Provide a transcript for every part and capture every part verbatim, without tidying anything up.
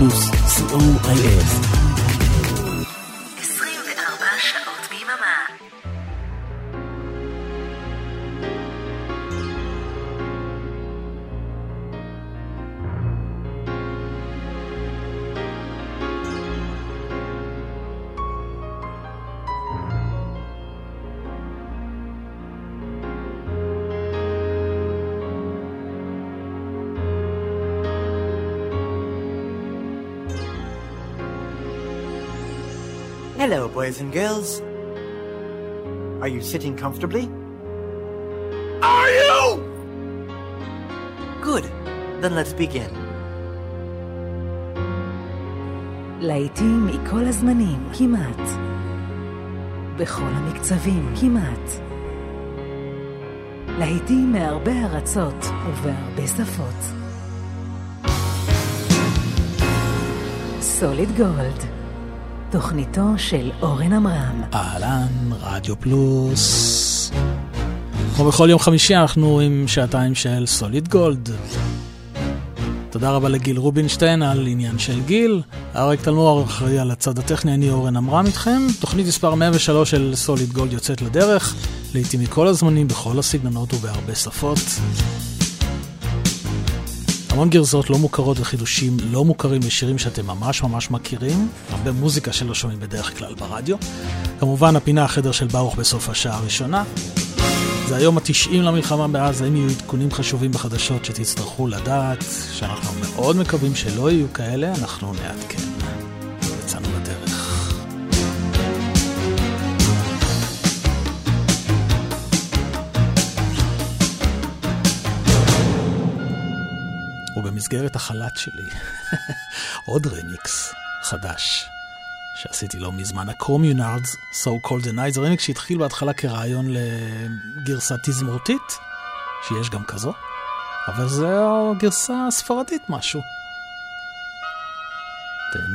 פלוס סי או איי אס. עשרים וארבע שעות ביממה. Hello, boys and girls. Are you sitting comfortably? Are you? Good. Then let's begin. להיטים מכל הזמנים, כמעט. בכל המקצבים, כמעט. להיטים מהרבה ארצות ובהרבה שפות. סוליד גולד. תוכניתו של אורן אמרם. אהלן, רדיו פלוס. כמו בכל יום חמישי אנחנו עם שעתיים של סוליד גולד. תודה רבה לגיל רובינשטיין על עניין של גיל. אריק תלמור אחראי על הצד הטכני, אני אורן אמרם איתכם. תוכנית מספר מאה ושלוש של סוליד גולד יוצאת לדרך. לעתים מכל הזמנים, בכל הסגנונות ובהרבה שפות. המון גרסאות לא מוכרות וחידושים לא מוכרים לשירים שאתם ממש ממש מכירים. הרבה מוזיקה שלא שומעים בדרך כלל ברדיו. כמובן הפינה החדר של ברוך בסוף השעה הראשונה. זה היום התשעים למלחמה בעזה. אם יהיו עדכונים חשובים בחדשות שתצטרכו לדעת, שאנחנו מאוד מקווים שלא יהיו כאלה, אנחנו נעדכן. יצאנו לדרך. ובמסגרת החלט שלי, עוד רמיקס חדש שעשיתי לו מזמן, ה-Communards, So Called the Night. זה רמיקס שהתחיל בהתחלה כרעיון לגרסה תזמורתית, שיש גם כזו, אבל זה גרסה ספרדית משהו. תהנו.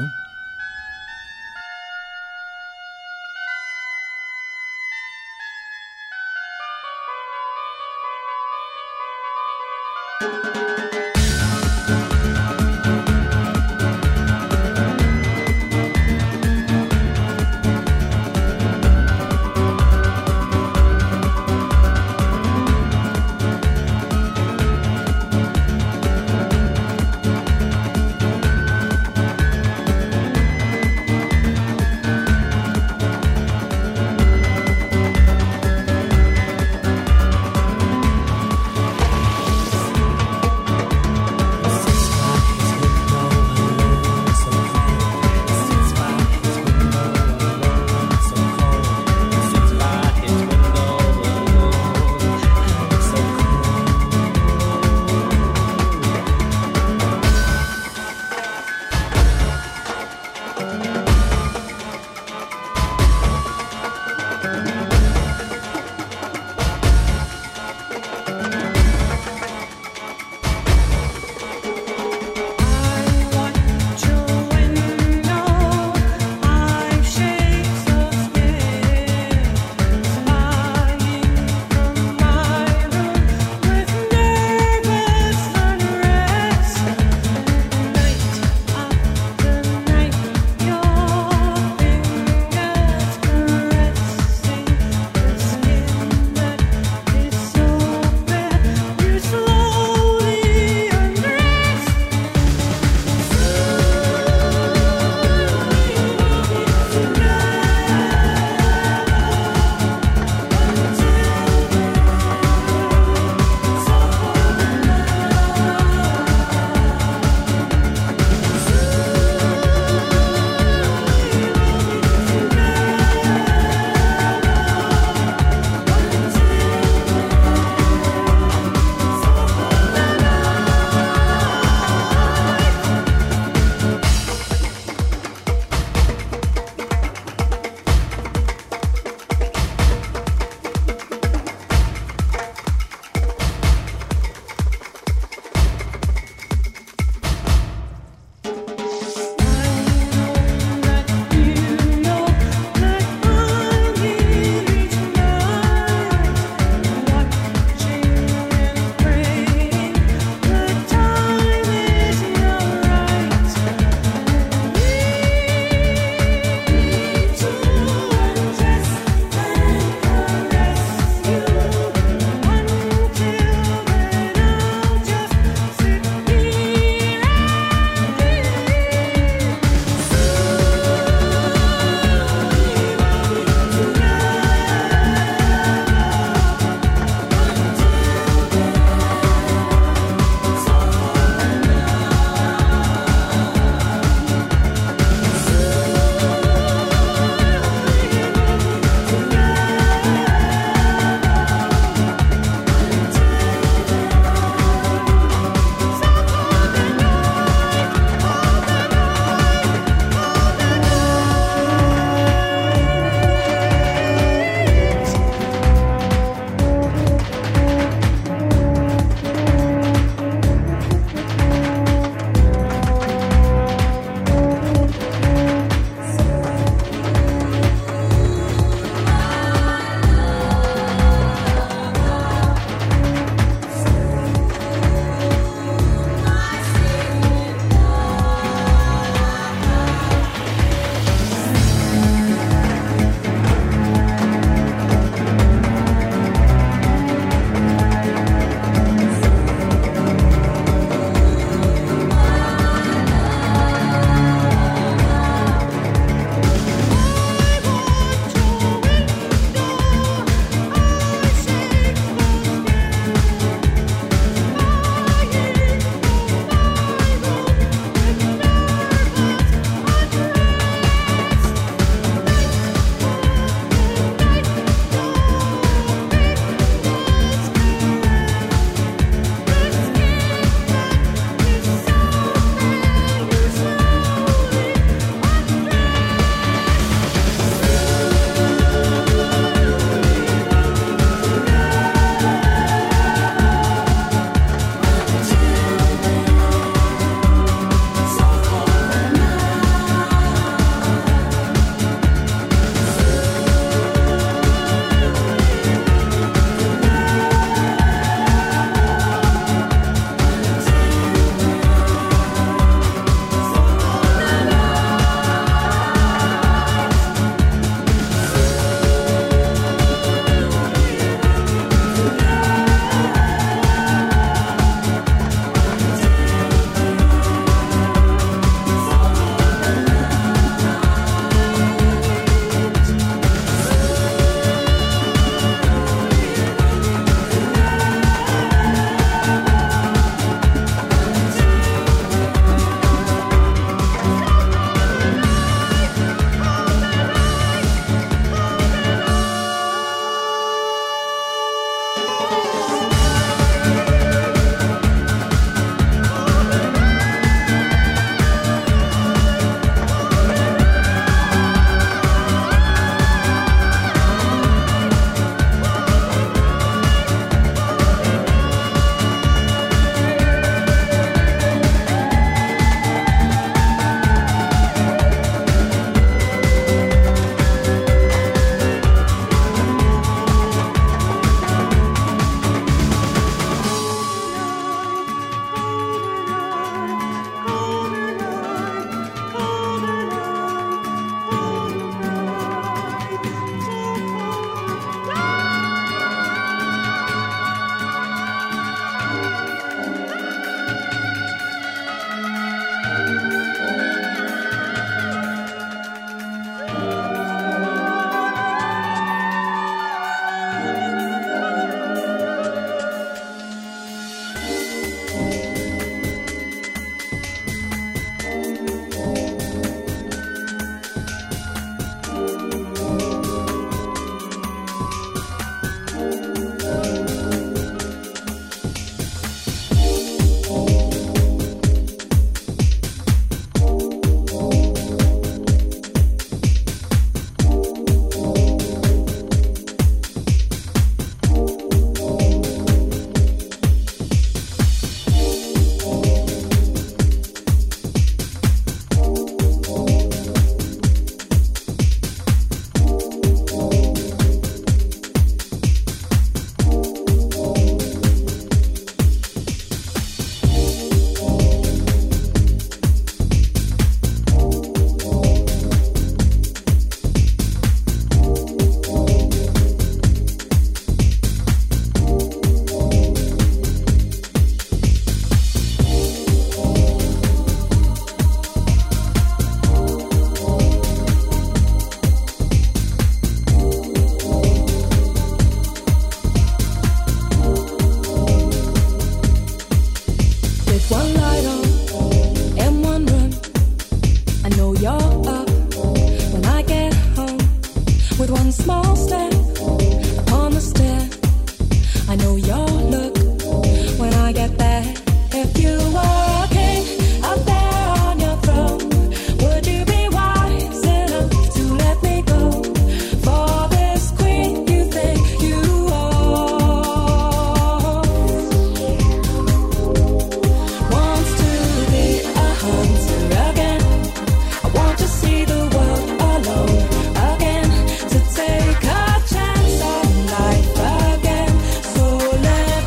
Take a chance on life again. So let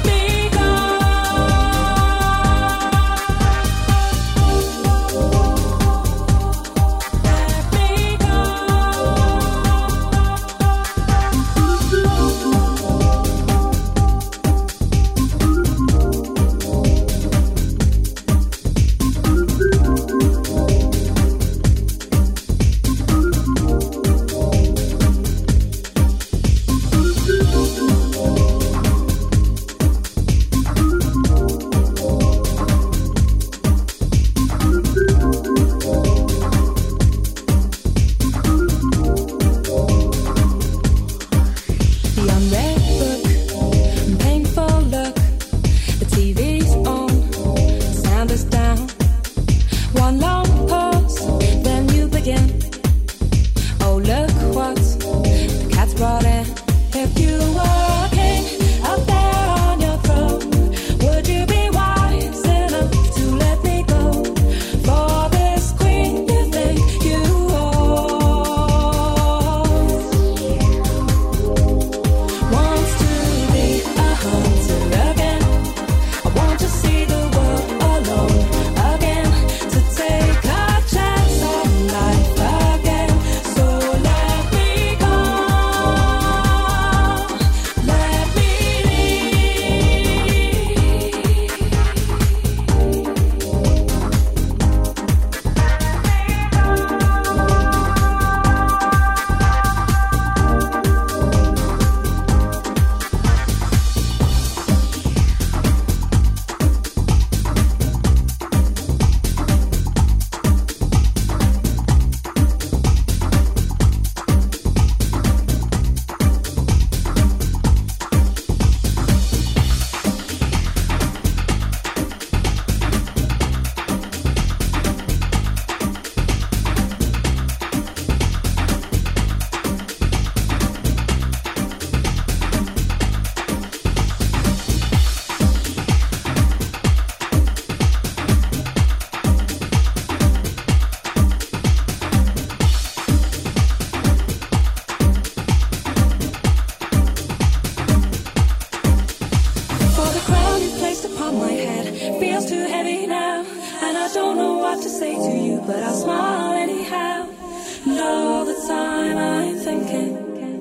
The crown you placed upon my head feels too heavy now, and I don't know what to say to you, but I'll smile anyhow. And all the time I'm thinking,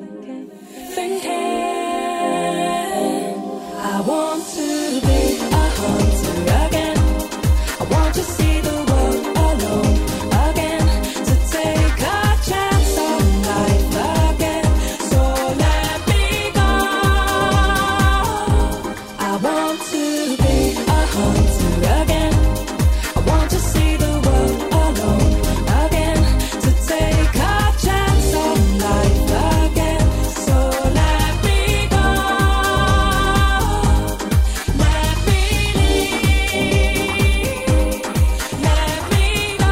thinking, I want to be a hunter again. I want to see the world alone again, to take a chance on life again. So let me go. I want to be a hunter again. I want to see the world alone again, to take a chance on life again. So let me go. Let me leave. Let me go.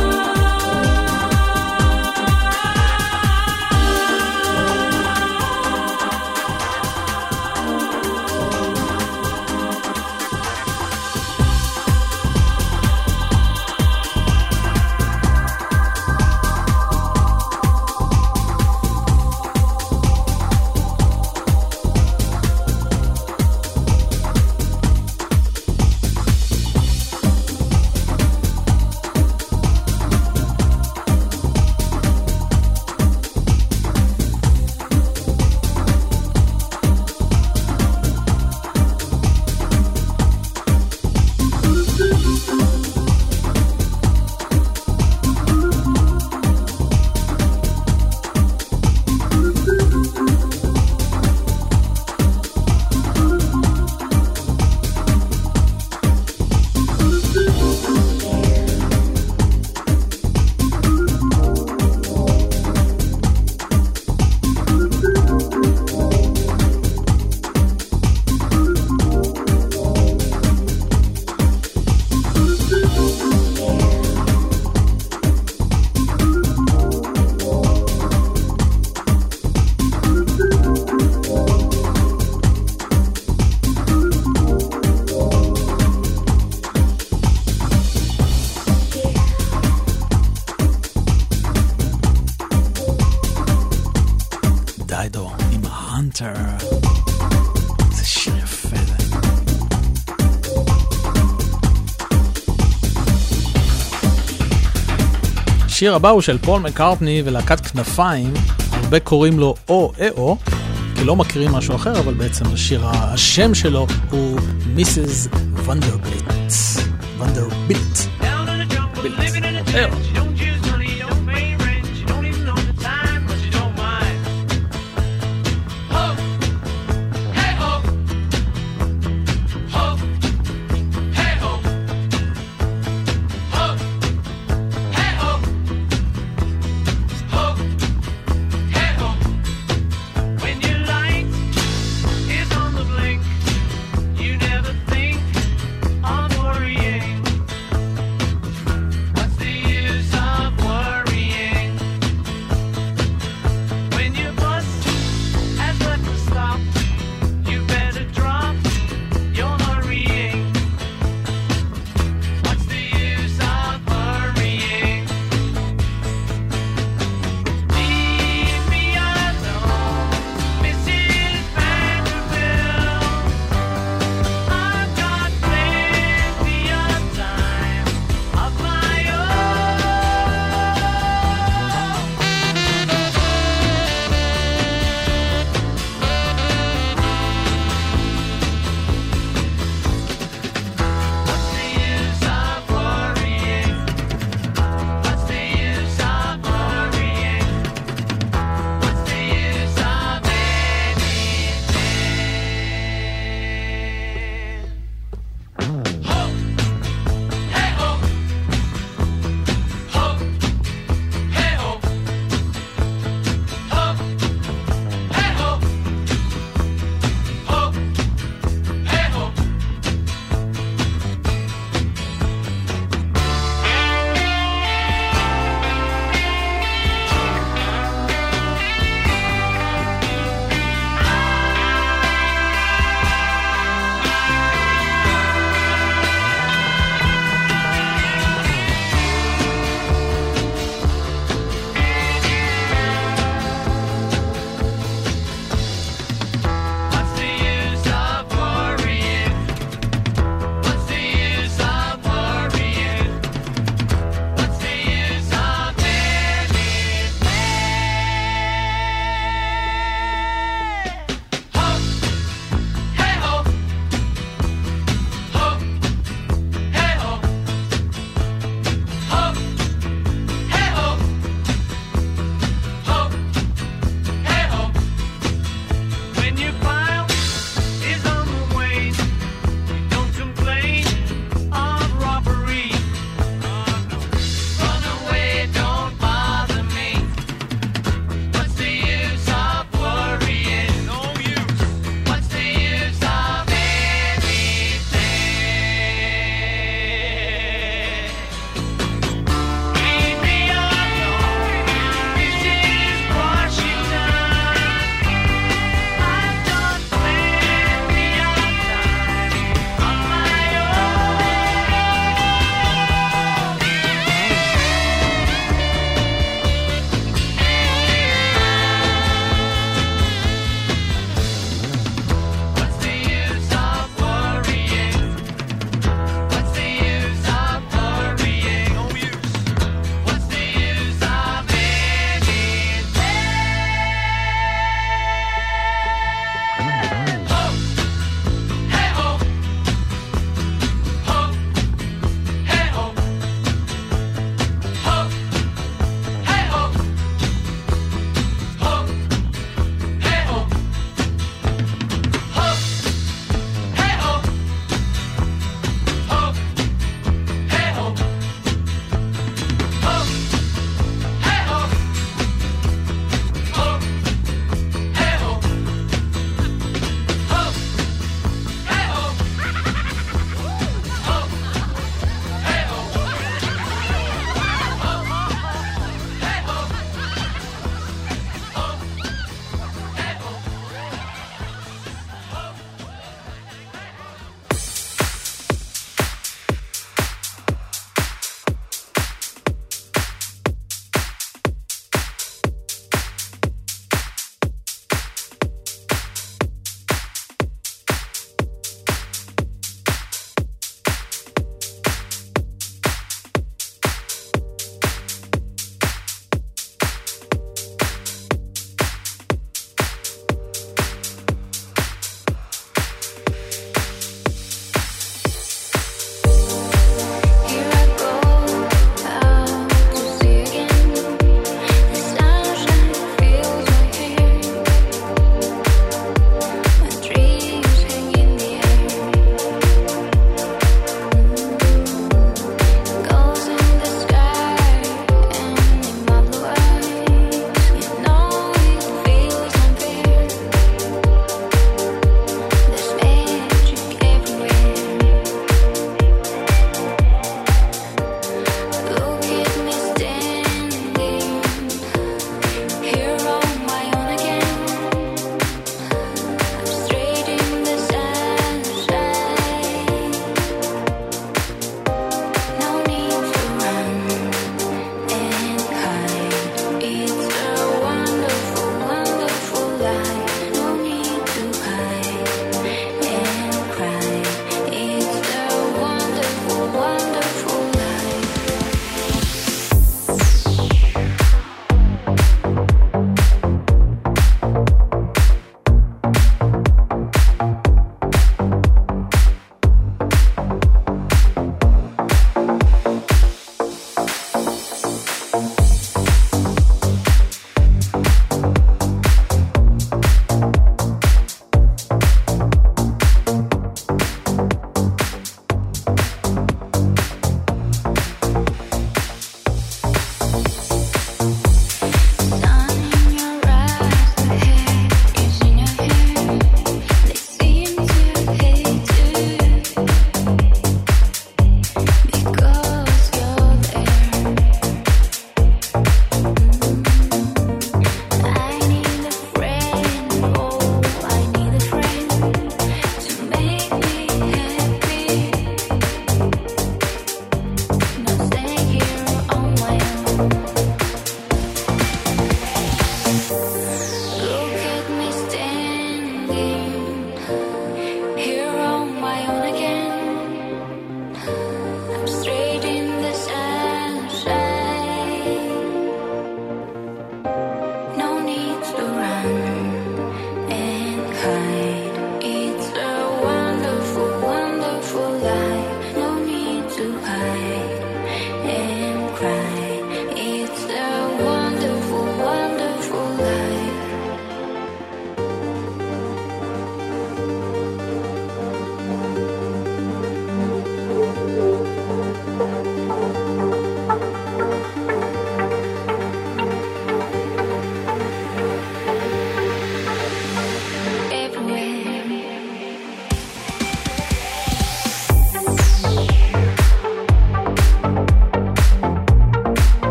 דיידו עם ההנטר. זה שיר יפה זה. השיר הבא הוא של פול מקארטני ולהקת כנפיים. הרבה קוראים לו או או, כי לא מכירים משהו אחר, אבל בעצם השיר, השם שלו הוא מיסס ונדרבילט. ונדרבילט. בילט. What's the use of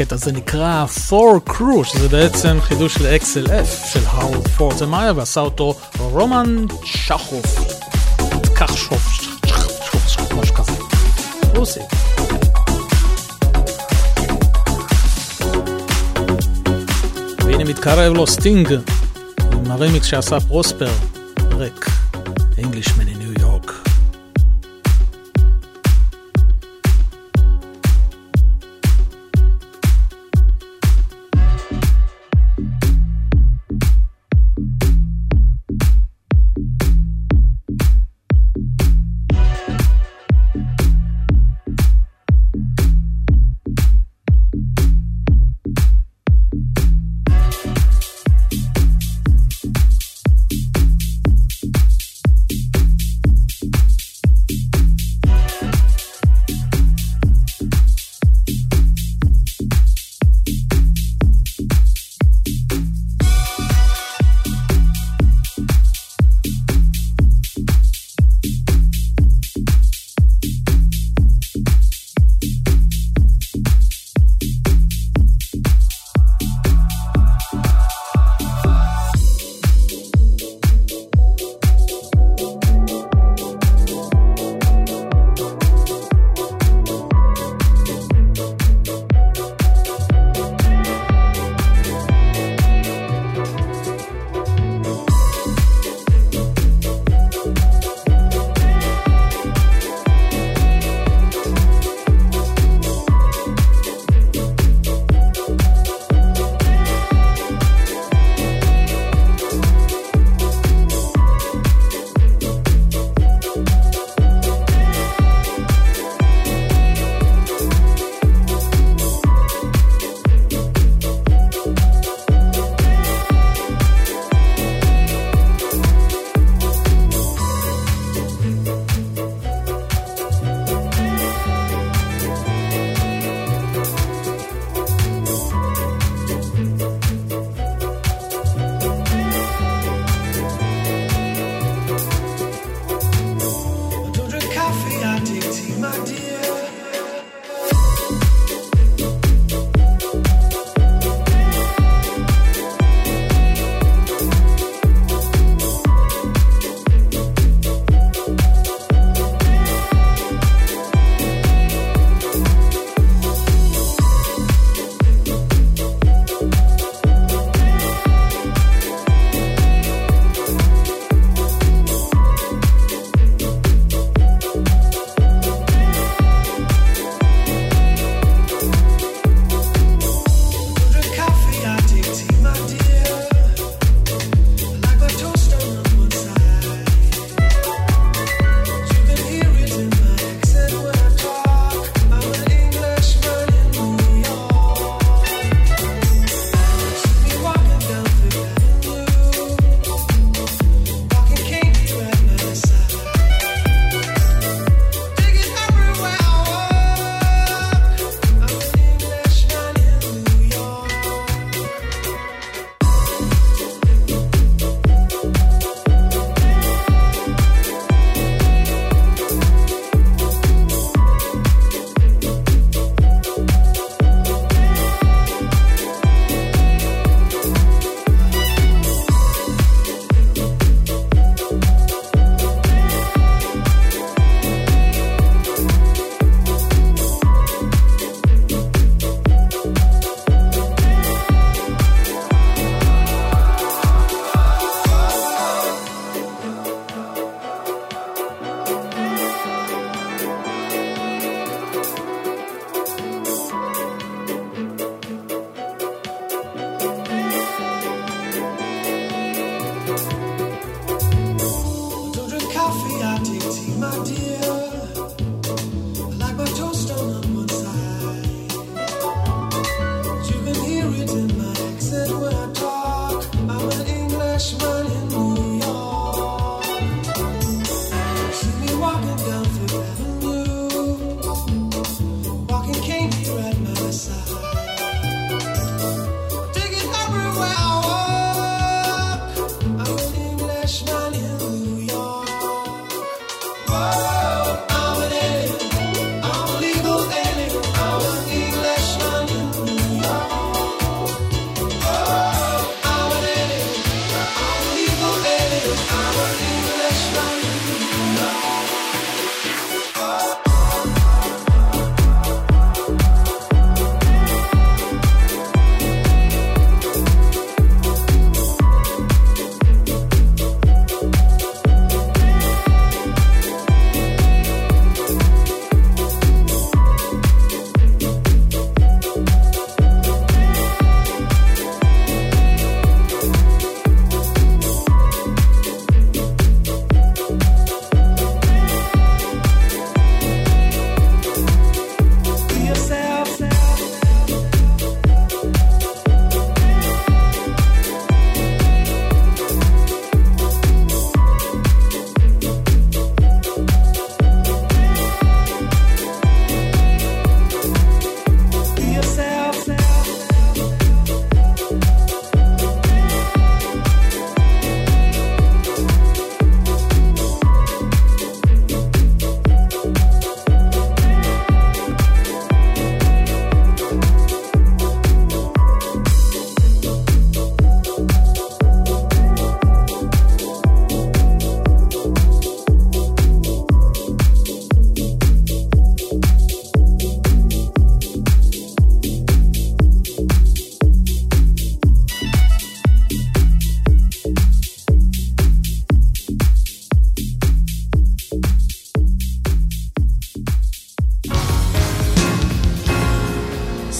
הקטע הזה נקרא Four Crew, שזה בעצם חידוש ל-אקס אל אף של האוורד פורטמאייר, ועשה אותו רומן צ'חוף. כך שוף, שוף, שוף, משהו כזה. רוסי. והנה מתקרב לו סטינג, עם הרמיקס שעשה פרוספר, ריק, Englishman in New York.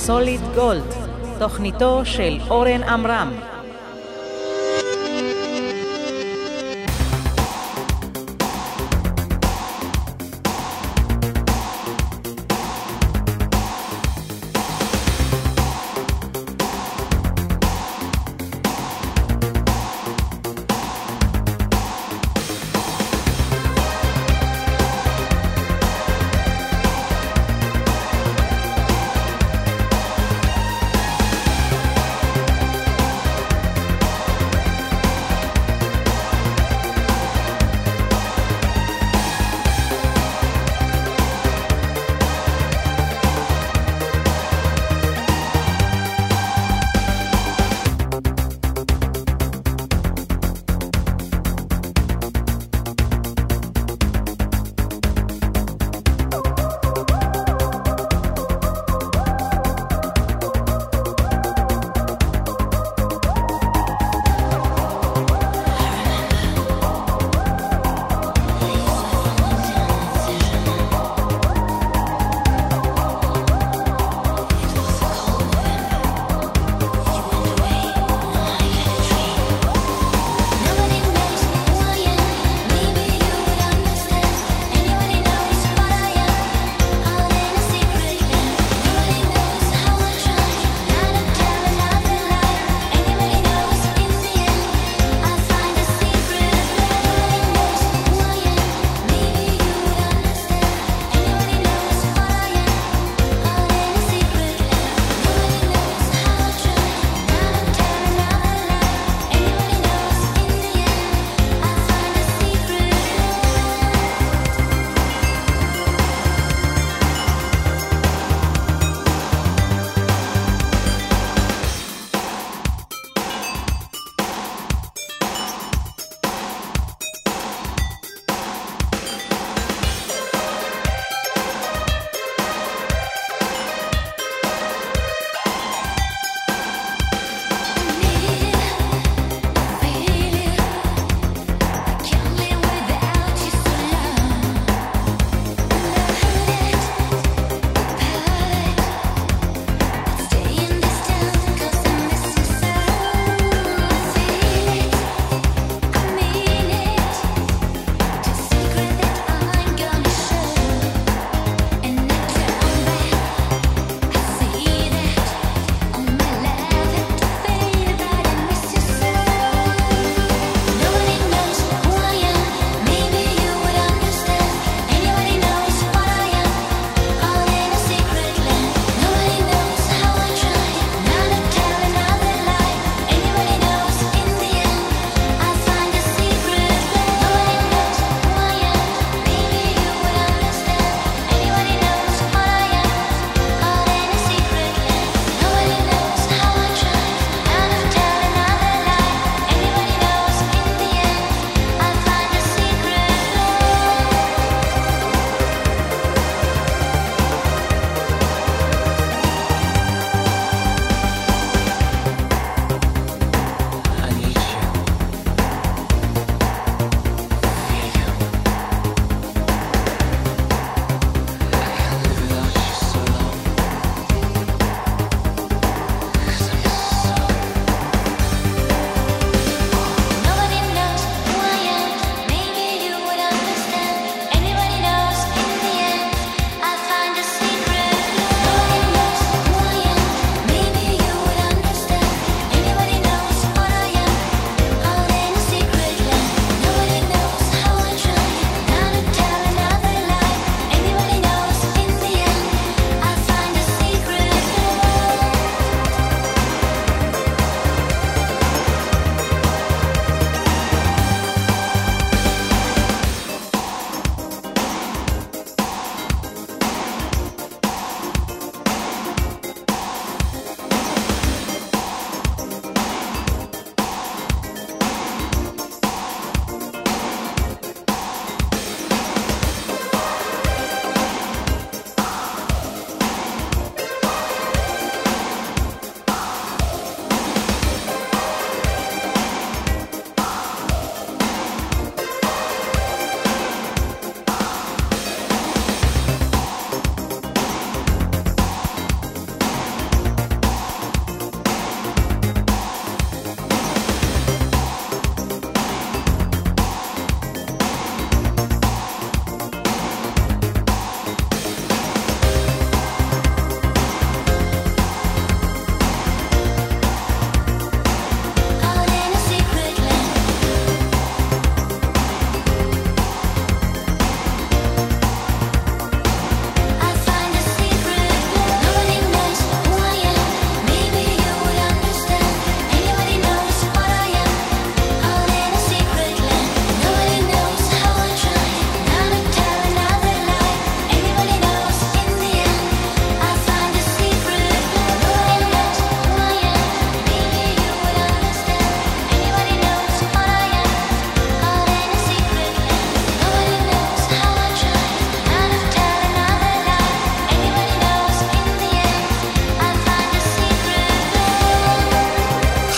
סוליד גולד, תוכניתו של אורן עמרם.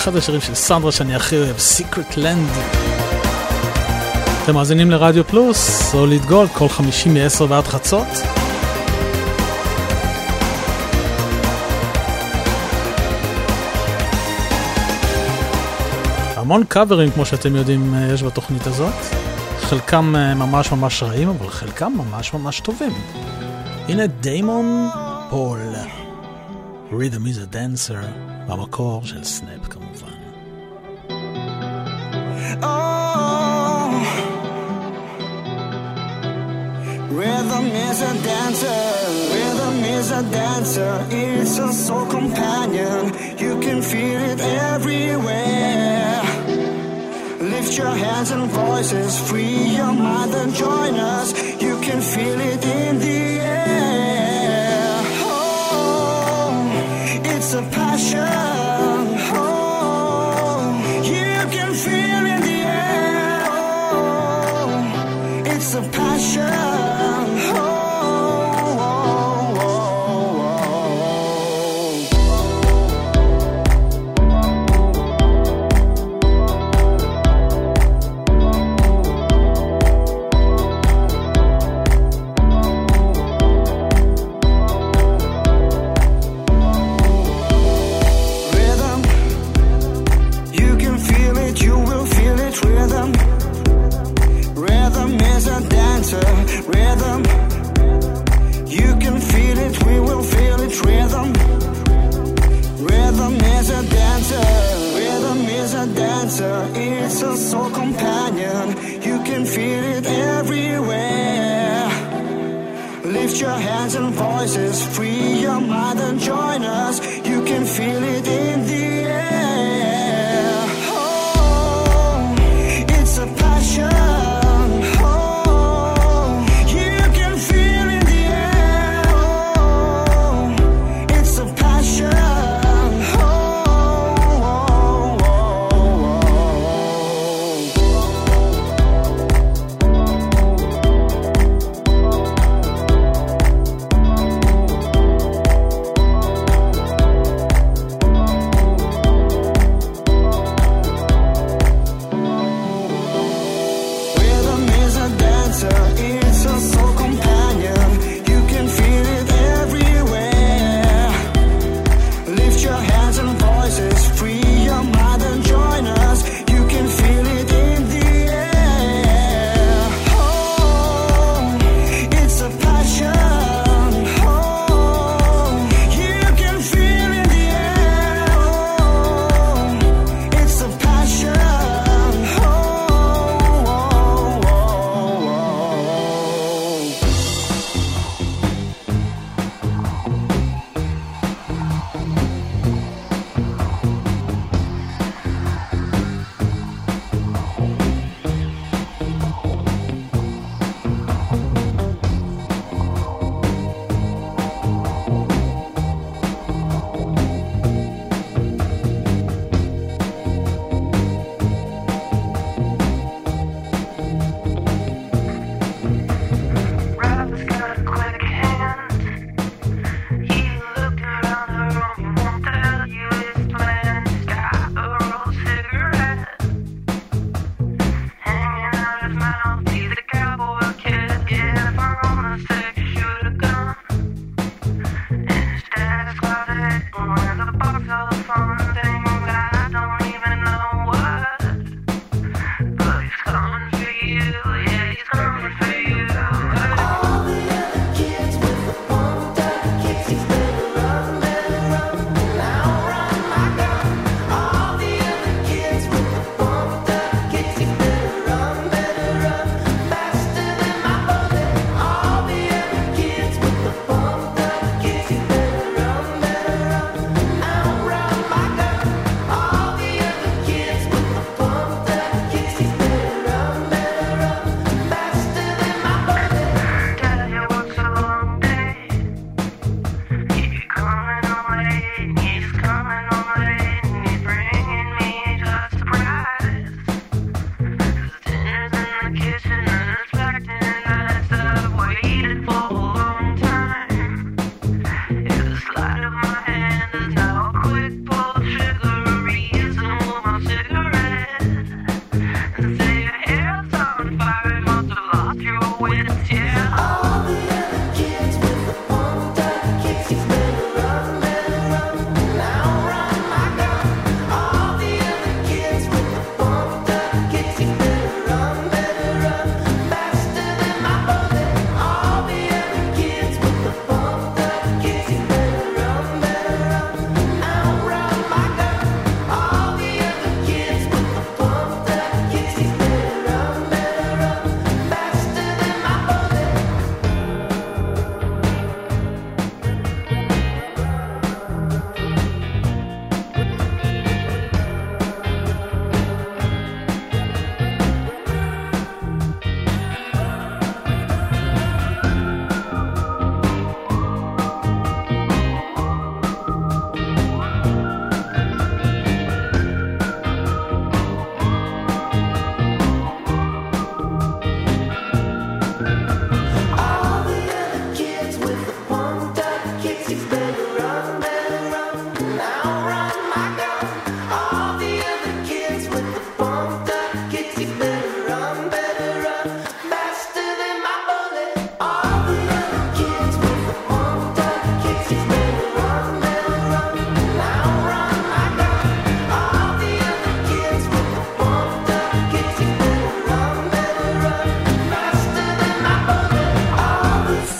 אחד השירים של סנדרה שאני הכי אוהב, Secret Land. אתם מאזינים לרדיו פלוס, סוליד גולד, כל חמישי מ-עשר ועד חצות. המון קאברים, כמו שאתם יודעים, יש בתוכנית הזאת. חלקם ממש ממש רעים, אבל חלקם ממש ממש טובים. הנה דיימון פול, Rhythm is a Dancer, במקור של סנאפ כמובן. Oh, rhythm is a dancer, rhythm is a dancer, it's a soul companion, you can feel it everywhere. Lift your hands and voices, free your mind and join us, you can feel it in the air. Oh, it's a passion, oh, you can feel in the air. Oh, it's a passion. Rhythm, you can feel it, we will feel it. Rhythm, rhythm is a dancer, rhythm is a dancer, it's a soul companion, you can feel it everywhere. Lift your hands and voices, free your mind and join us, you can feel it in the air. Oh, it's a passion.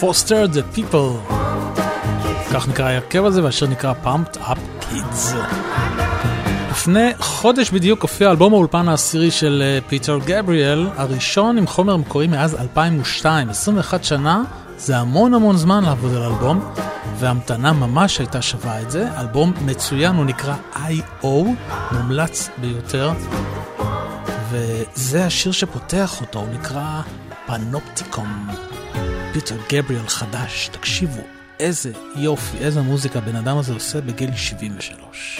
Foster the People. כך נקרא הרכב הזה, והשיר נקרא Pumped Up Kids. לפני חודש בדיוק הופיע אלבום האולפן העשירי של פיטר גבריאל, הראשון עם חומר מקורי מאז אלפיים ושתיים. עשרים ואחת שנה, זה המון המון זמן לעבוד על אלבום, והמתנה ממש הייתה שווה את זה. אלבום מצוין, הוא נקרא איי או, מומלץ ביותר, וזה השיר שפותח אותו, הוא נקרא פנופטיקום. פיטר גבריאל חדש, תקשיבו איזה יופי, איזה מוזיקה בן אדם הזה עושה בגיל שבעים ושלוש.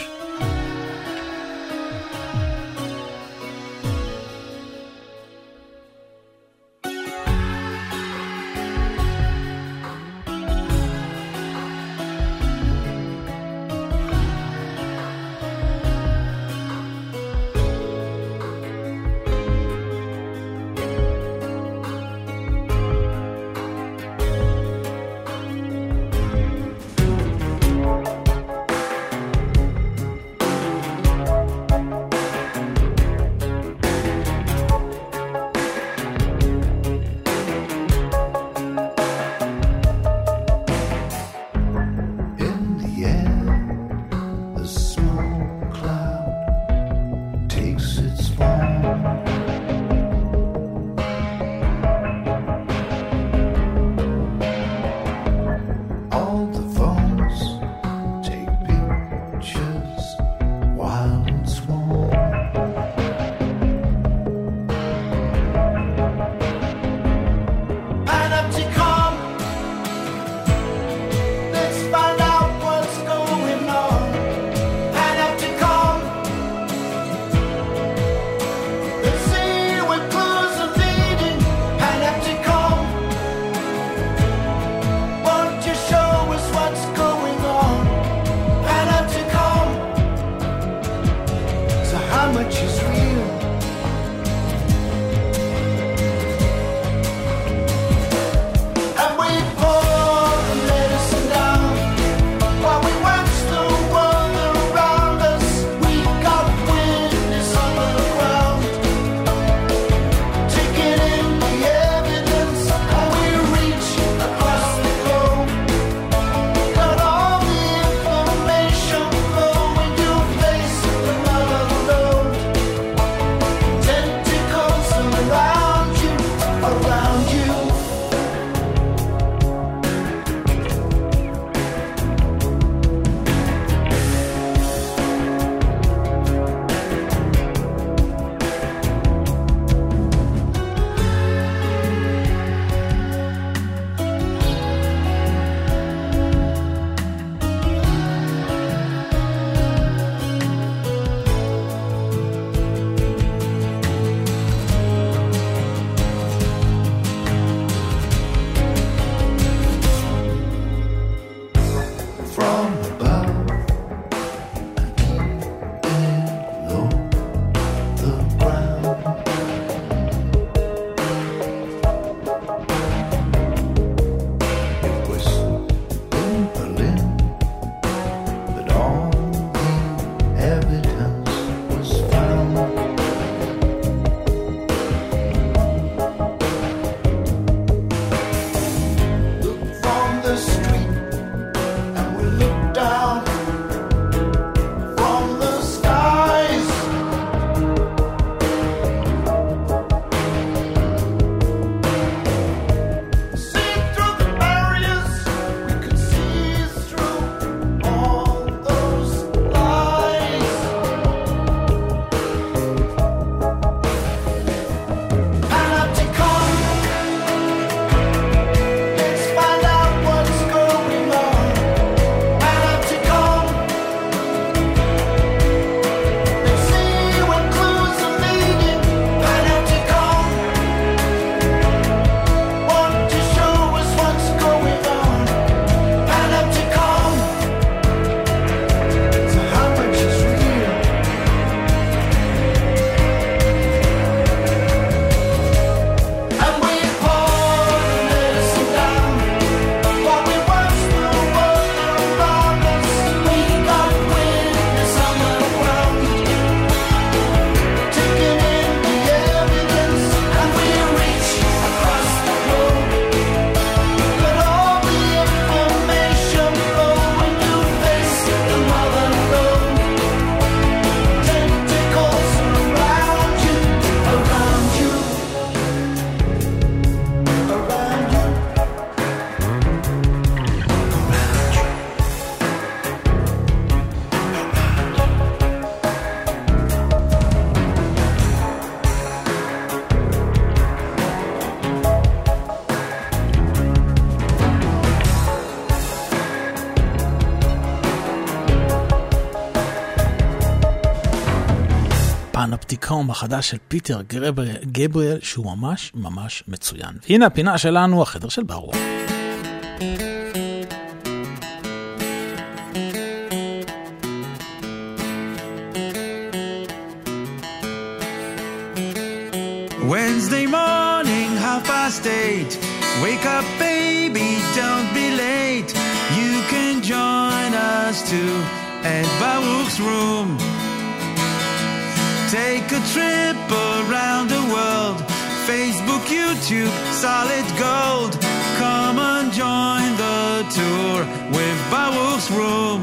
פנופטיקום החדש של פיטר גבריאל, שהוא ממש ממש מצוין. והנה הפינה שלנו, החדר של ברוך. Wednesday morning, half past eight. Wake up, baby, don't be late. You can join us too at Baruch's room. Take a trip around the world. Facebook, YouTube, solid gold. Come and join the tour with Baruch's room.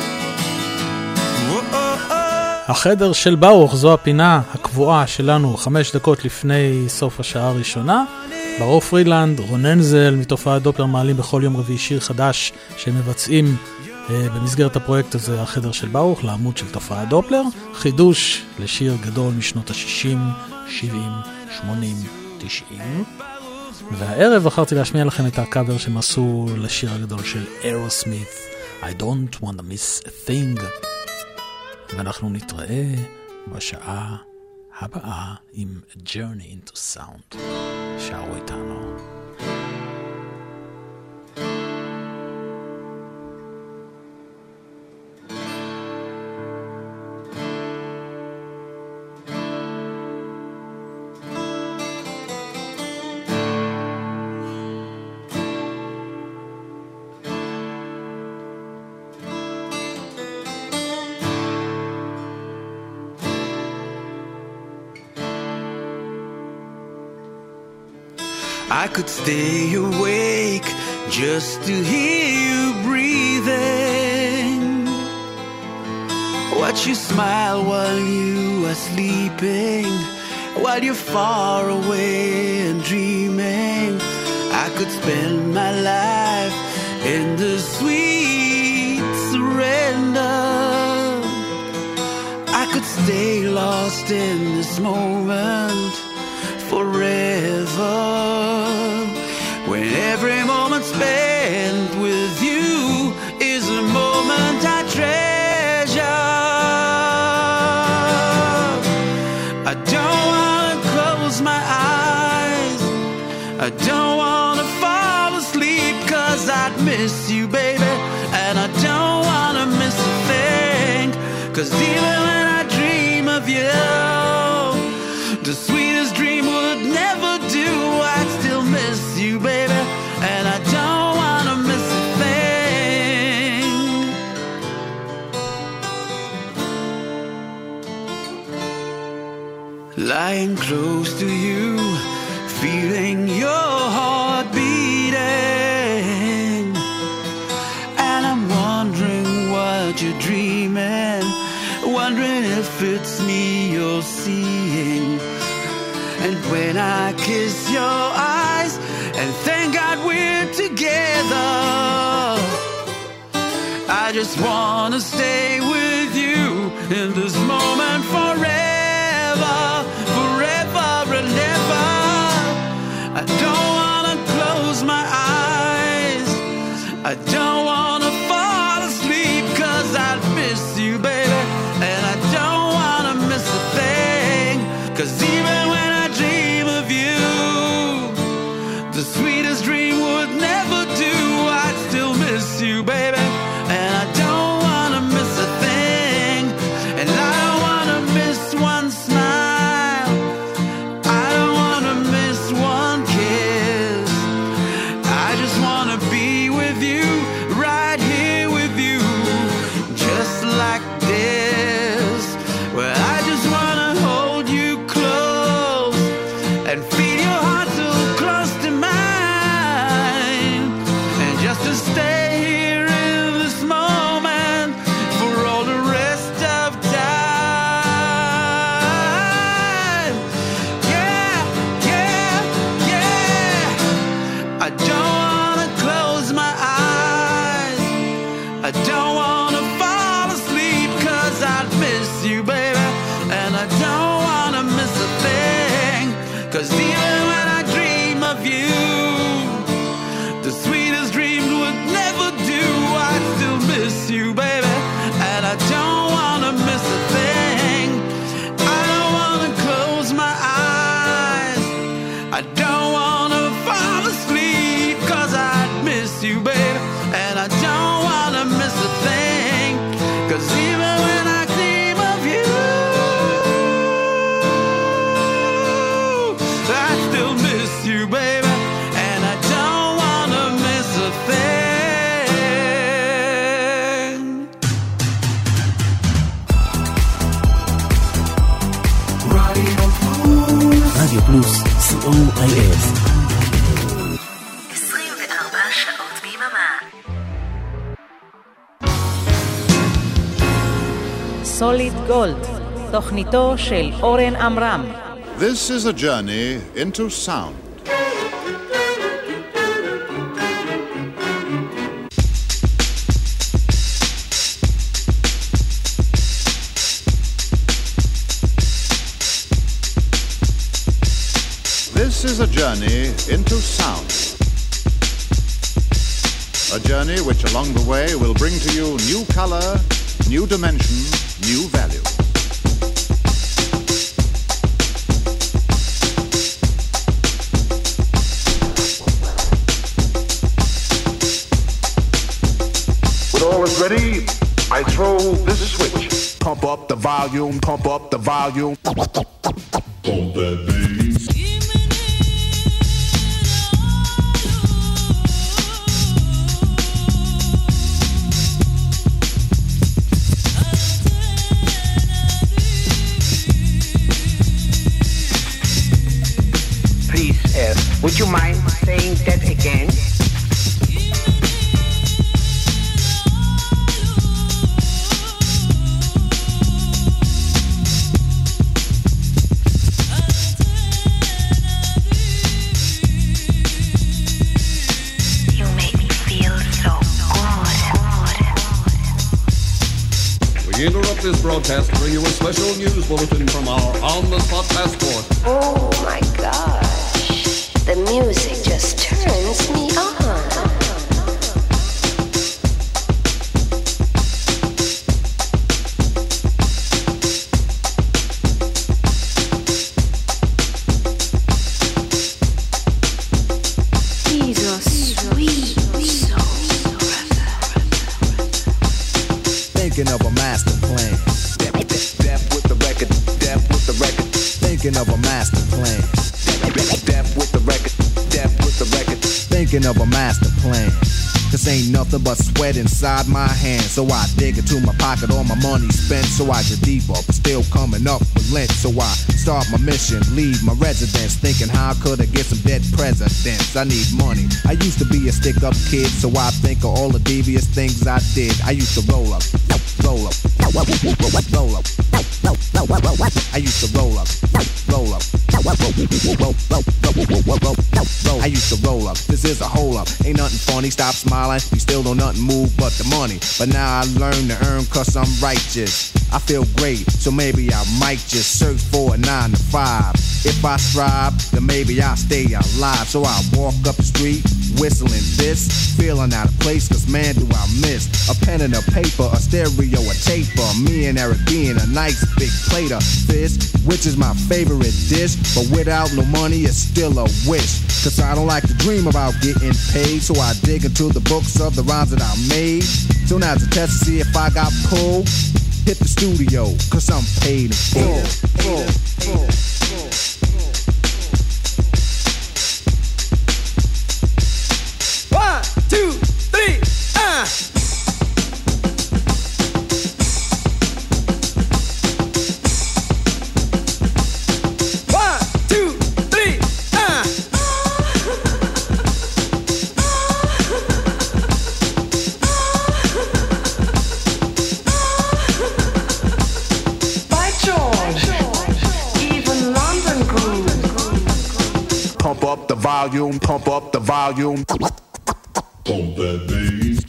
Whoa-oh-oh. החדר של ברוך, זו הפינה הקבועה שלנו חמש דקות לפני סוף השעה הראשונה. ברוך פרידלנד, רוננזל מתופעת דופלר מעלים בכל יום רביעי שיר חדש שמבצעים אה, במסגרת הפרויקט הזה, החדר של ברוך, לעמוד של תופעת דופלר. חידוש לשיר גדול משנות ה-שישים, שבעים, שמונים, תשעים. והערב בחרתי להשמיע לכם את הקאבר שהם עשו לשיר הגדול של Aerosmith, I don't want to miss a thing. ואנחנו נתראה בשעה הבאה עם Journey into Sound. שערו איתנו. I could stay awake just to hear you breathing. Watch you smile while you are sleeping, while you're far away and dreaming. I could spend my life in the sweet surrender. I could stay lost in this moment forever, when every moment spent with you is a moment I treasure. I don't want to close my eyes, I don't want to fall asleep, 'cause I'd miss you, baby, and I don't want to miss a thing, 'cause even when I dream of you, the sweetest dream would never do. I'd still miss you, baby, and I don't want to miss a thing. Lying close to you, feeling your heart beating, and I'm wondering what you're dreaming, wondering if it's me you're seeing. And when I kiss your eyes and thank God we're together, I just want to stay with you in this moment forever, forever and ever. I don't want to close my eyes, I don't want to fall asleep, 'cause I'd miss you, baby, and I don't want to miss a thing, 'cause even when the sweetest dream would never do, I'd still miss you, baby, and I don't want to miss a thing, and I don't want to miss one smile, I don't want to miss one kiss, I just want to be with you, right here with you, just like this, where I just want to hold you close and feel your heart so close to mine, and just to stay here פלוס סי או איי אס. עשרים וארבע שעות ביממה. סוליד גולד, תוכניתו של אורן עמרם. This is a journey into sound. This is a journey into sound. A journey which along the way will bring to you new color, new dimension, new value. When all is ready, I throw this switch. Pump up the volume, pump up the volume. Pump that bass. Please, uh, would you mind saying that again? We interrupt this broadcast to bring you a special news bulletin from our on-the-spot passport. Oh my gosh, the music just turns me on. He's a sweet soul. Thinking of a master plan. Death with the record, death with the record. Thinking of a master plan. Death with the record, death with the record. Thinking of a master plan. Cause ain't nothing but sweat inside my hands. So I dig into my pocket, all my money spent. So I get deeper, but still coming up with lint. So I start my mission, leave my residence. Thinking how could I get some dead presidents? I need money. I used to be a stick-up kid, so I think of all the devious things I did. I used to roll up, roll up, roll up, roll up. I used to roll up, roll up, I used to roll up. This is a hole up. Ain't nothing funny. Stop smiling. You still don't nothing move but the money. But now I learn to earn cause I'm righteous. I feel great, so maybe I might just search for a nine to five. If I strive, then maybe I'll stay alive. So I walk up the street, whistling this, feeling out of place, cause man do I miss a pen and a paper, a stereo, a taper. Me and Eric being a nice big plate of fish, which is my favorite dish. But without no money, it's still a wish. Cause I don't like to dream about getting paid. So I dig into the books of the rhymes that I made. So now's a test to see if I got pulled. Hit the studio, cause I'm paid in full. full, full, full. One, two, three, ah! One, two, three, ah! By George, even London grooves. Pump up the volume, pump up the volume. Pump that bass.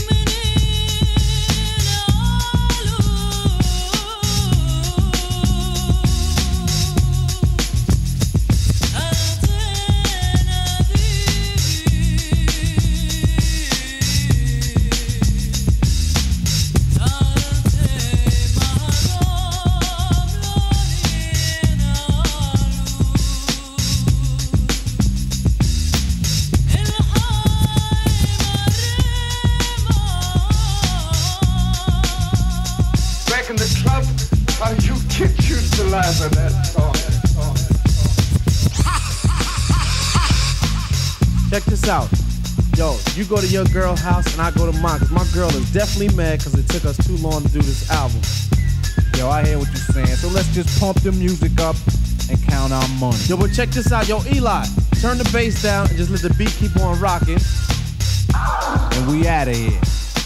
Check this out. Yo, you go to your girl's house and I go to mine. Cause my girl is definitely mad cause it took us too long to do this album. Yo, I hear what you're saying. So let's just pump the music up and count our money. Yo, but check this out. Yo, Eli, turn the bass down and just let the beat keep on rocking. And we out of here.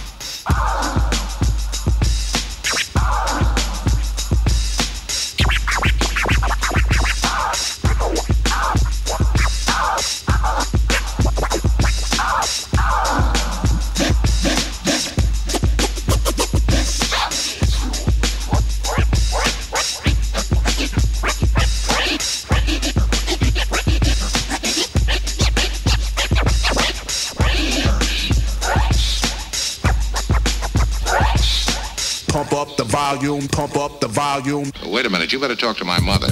Pump up the volume, pump up the volume. Wait a minute, you better talk to my mother.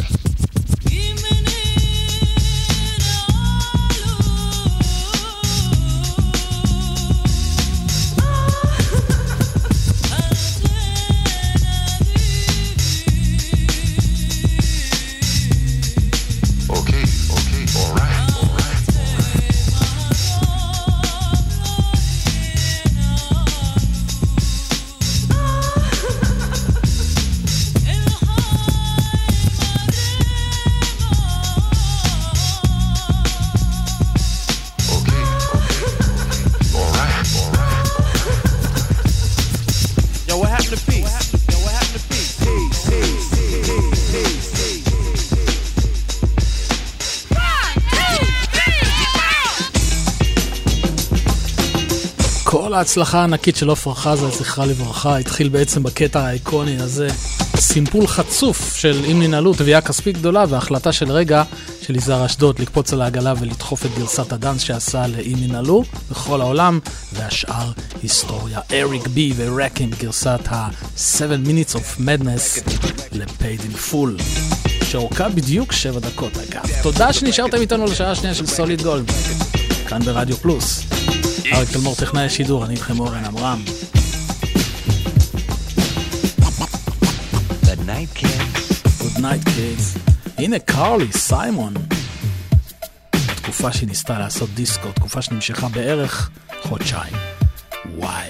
כל ההצלחה הענקית של עופרה חזה, זכרה לברכה, התחיל בעצם בקטע האיקוני הזה. סימפול חצוף של אם ננעלו, תביעה כספית גדולה, והחלטה של רגע של יזהר אשדוד לקפוץ על העגלה ולדחוף את גרסת הדנס שעשה לאם ננעלו בכל העולם, והשאר היסטוריה. אריק בי ורקים בגרסת ה-seven minutes of madness ל-paid in full, שאורכה בדיוק שבע דקות אגב. תודה שנשארתם איתנו לשעה השנייה של סוליד גולד, כאן ברדיו פלוס. אריק תלמור טכנאי השידור, אני איתכם אורן עמרם. Good night kids. Good night kids. הנה קרלי, סיימון. תקופה שהיא ניסתה לעשות דיסקו, תקופה שנמשכה בערך חודשיים. וואי.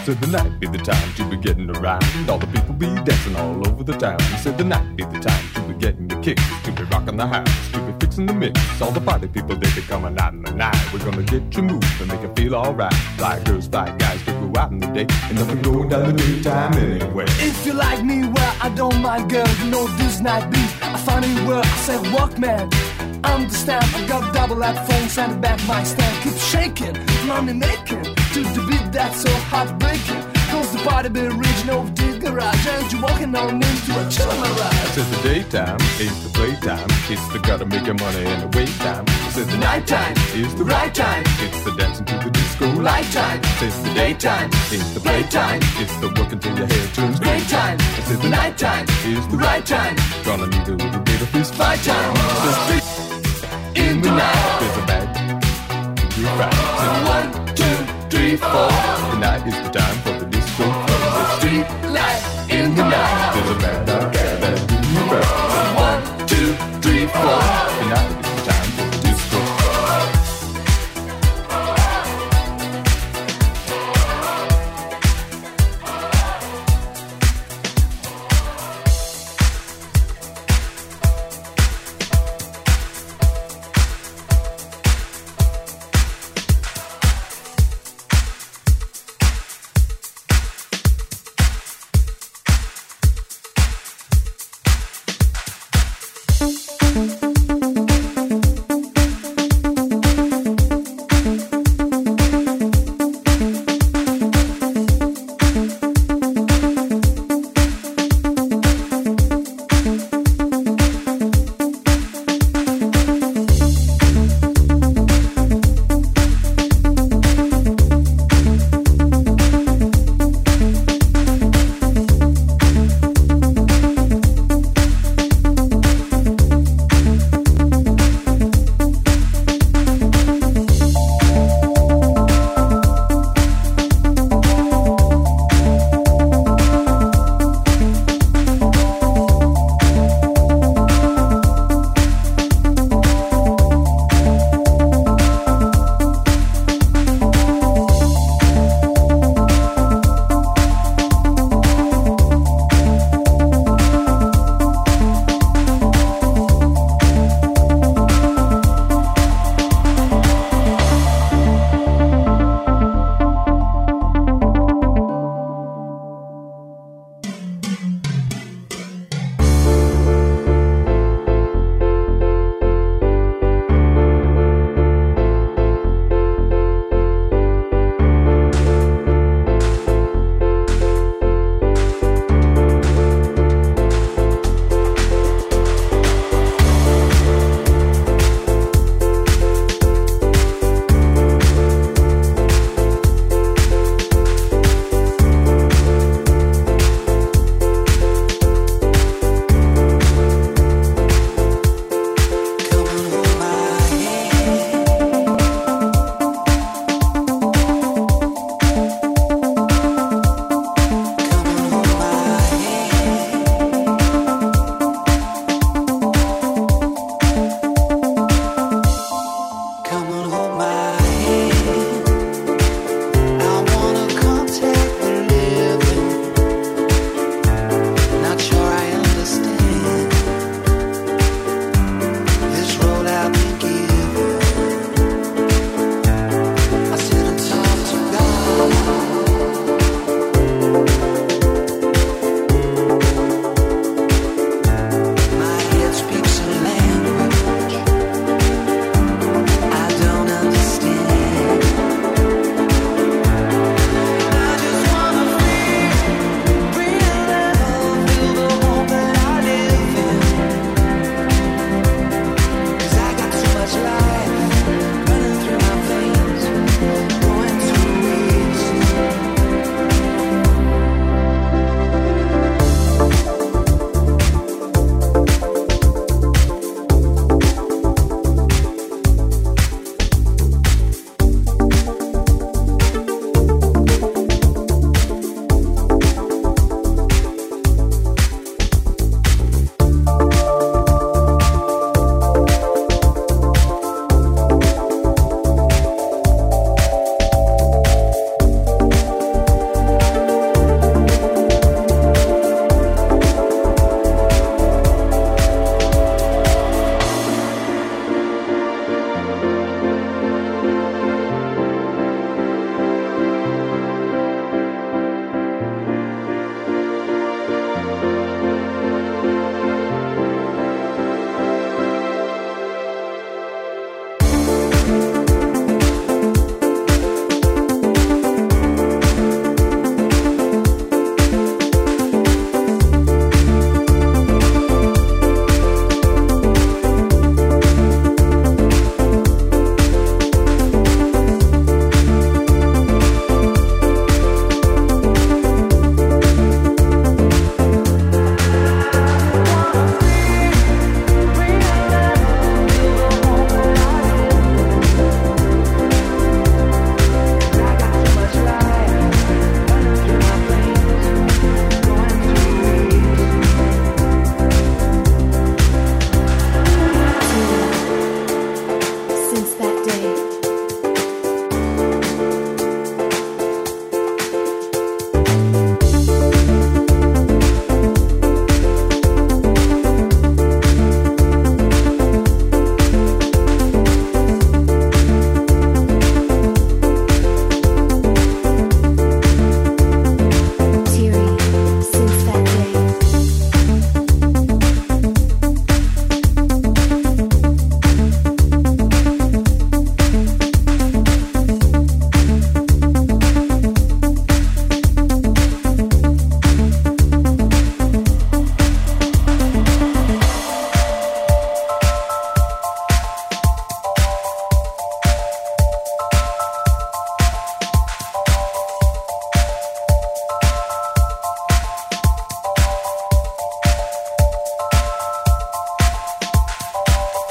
said the night be the time to be getting around. All the people be dancing all over the town. He said the night be the time to be getting the kicks, to be rocking the house, to be fixing the mix. All the party people, they be coming out in the night. We're gonna get you moved and make you feel alright. Fly girls, fly guys, we go out in the day, and nothing going down the daytime anyway. If you like me, well, I don't mind, girl. You know this night be a funny word. I said Walkman. Understand, I got double headphones and the back my stand. Keep shaking, money making, to the beat that's so heartbreaking. Cause the party be original of the garage, and you walking on into a chill ride. I said the daytime is the playtime, it's the gotta make your money and the wait time. I said the nighttime is the right time, it's the dancing to the disco light time. I said the daytime is the playtime, it's the working till your hair turns great time. I said the nighttime is the right time, gonna need a little bit of fist fight time. In the night, there's a bag. You're right. One, two, three, four. Tonight is the time for the disco. The street light in the night. There's a bad dog that do you right. One, two, three, four. Tonight is the time for the disco.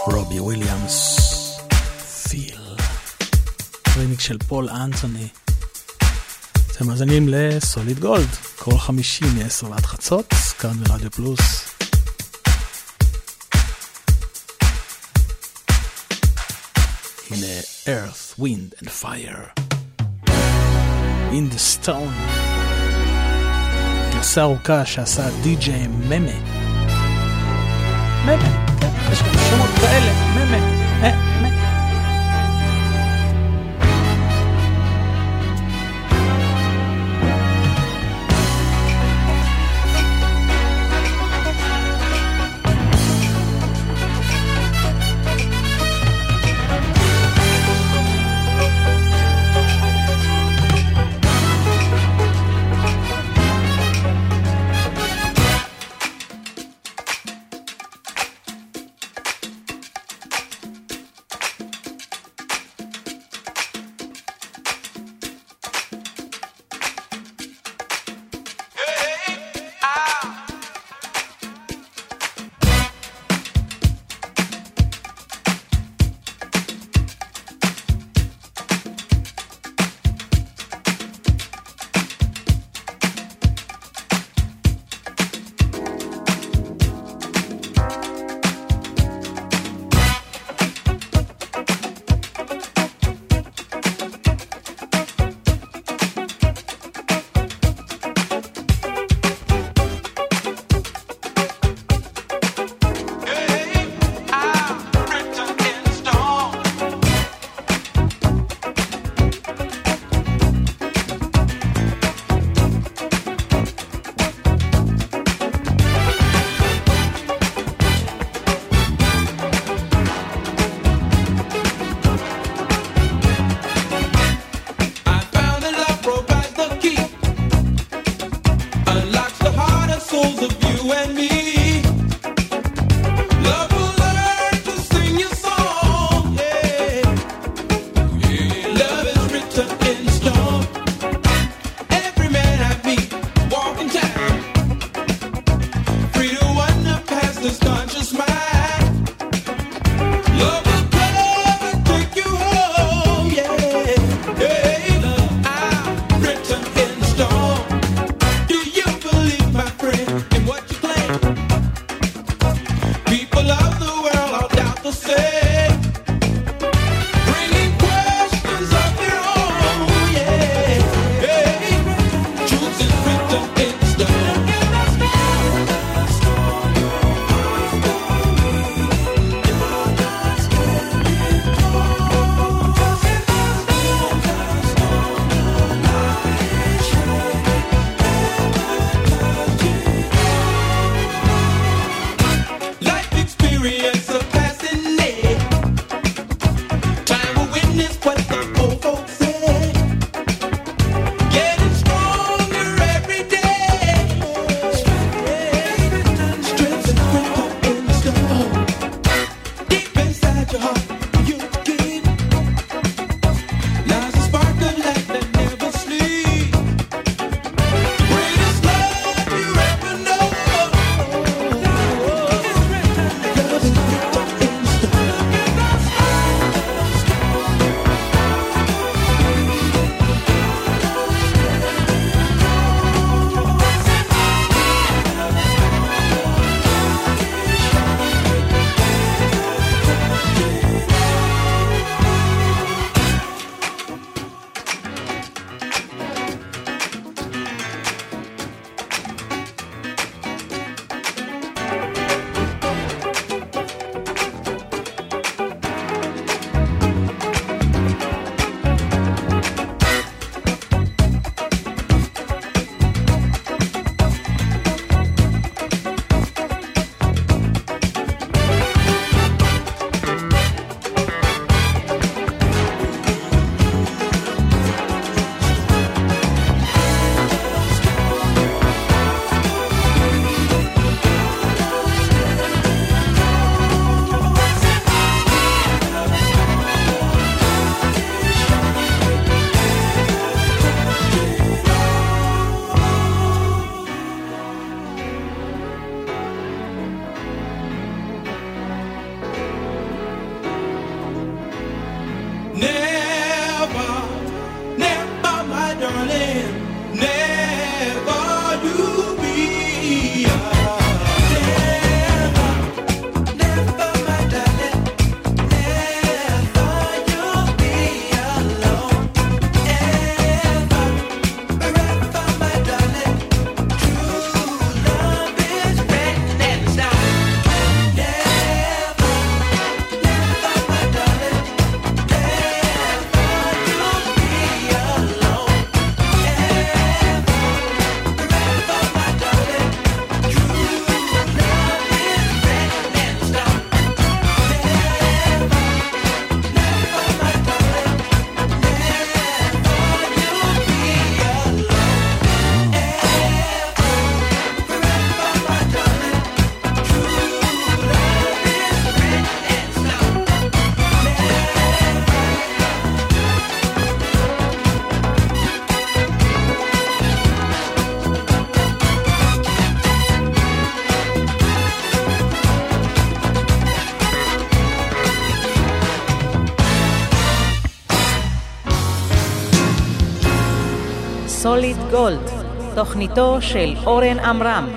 רובי וויליאמס, פיל. רימיק של פול אנטוני. אתם מאזינים לסוליד גולד, כל חמישי מ-עשר ועד חצות, כאן ברדיו פלוס. הנה Earth, Wind and Fire. In the Stone. גרסה ארוכה שעשה די-ג'יי ממה. ממה, כן, יש גם שמות כאלה, ממה, אה, ממה. סוליד גולד, תוכניתו של אורן עמרם.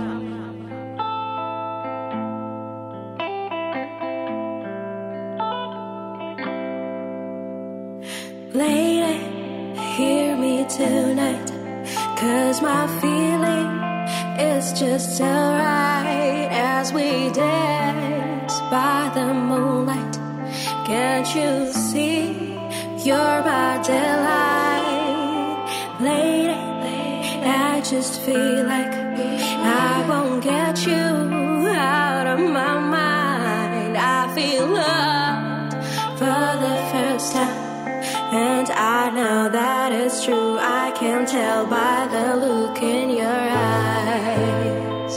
Lady, hear me tonight, 'cause my feeling is just alright as we dance by the moonlight. Can't you see you're my delight? Lady, I just feel like I won't get you out of my mind. I feel loved for the first time, and I know that it's true. I can tell by the look in your eyes.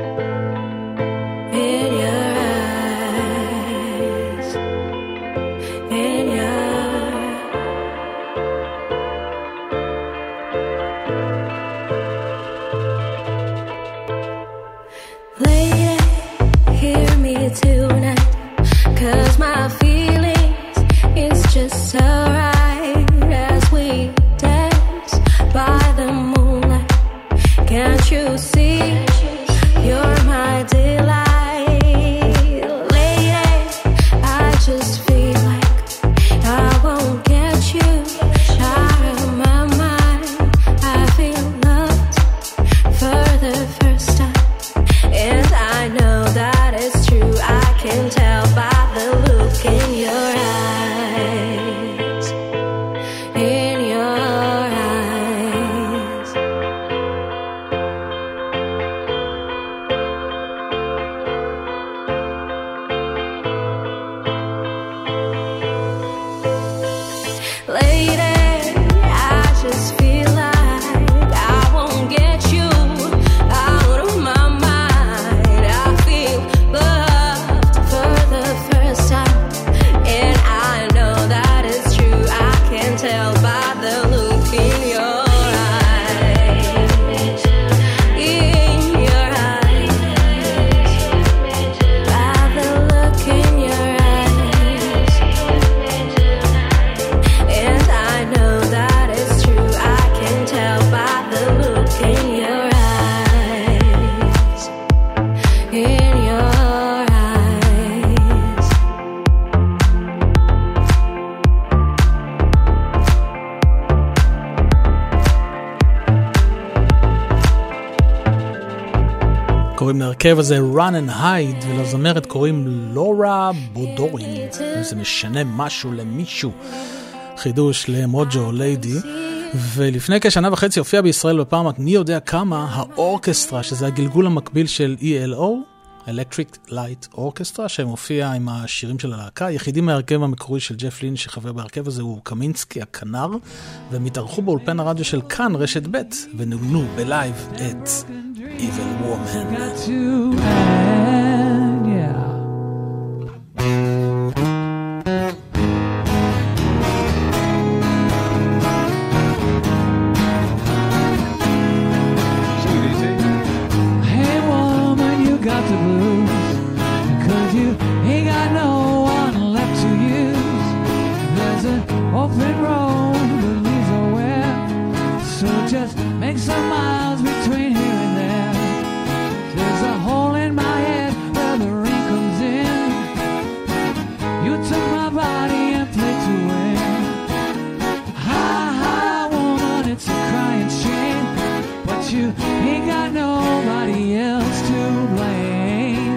In your eyes. In your Lady, hear me tonight, 'cause my feelings is just so right as we dance by the moonlight. Can't you see you're my delight? Lady, I just feel like I won't get you out of my mind. I feel loved for the first time, and I know that it's true. I can tell by the look in your eyes. In your eyes. Lady, I just feel like I won't get you out of my mind. I feel loved for the first time, and I know that it's true. I can tell by the look in your eyes. In your eyes. By the look in your eyes. And I know that it's true. I can tell by the look in your eyes. In your eyes. קוראים להרכב הזה Run and Hide, ולזמרת קוראים לורה בודורין. זה משנה משהו למישהו. חידוש למוג'ו ליידי. ולפני כשנה וחצי הופיע בישראל בפעם מי יודע כמה האורקסטרה, שזה הגלגול המקביל של E L O, Electric Light Orchestra, שמופיע עם השירים של הלהקה. היחידים מהרכב המקורי של ג'ף לין שחבר בהרכב הזה הוא קמינסקי הכנר, והם התארחו באולפן הרדיו של כאן רשת ב' ונוגנו בלייב את Evil Woman. Got to end, yeah. Hey woman, you got the blues, 'cause you ain't got no one left to use. There's an open road that leads nowhere, so just make some miles between here and there. There's a hole in my head where the rain comes in. You took my body and played to win. Ha ha woman, it's a crying shame, but you ain't got nobody else to blame.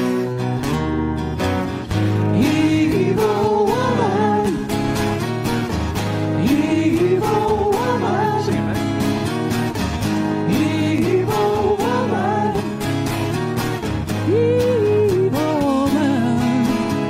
Evil woman, evil woman, sing it, evil woman, evil woman,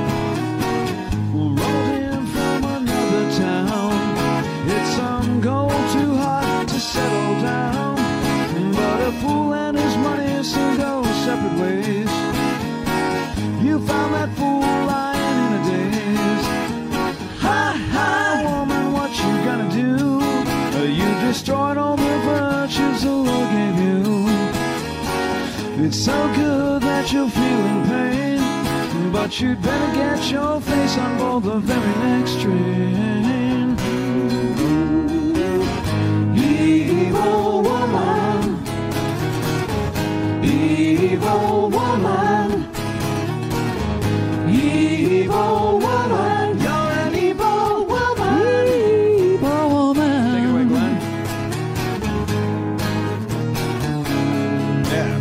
rolled in from another town. It's some go too hard to settle down, but a fool and his money soon go separate ways. You found that fool lying in a daze. Ha ha woman, what you gonna do? Uh, You destroyed all the virtues the Lord gave you. It's so good that you're feeling pain, but you'd better get your face on board the very next train. Evil Evil woman. Evil woman. You're an evil woman. Evil woman. Take it away, Glenn. Yeah.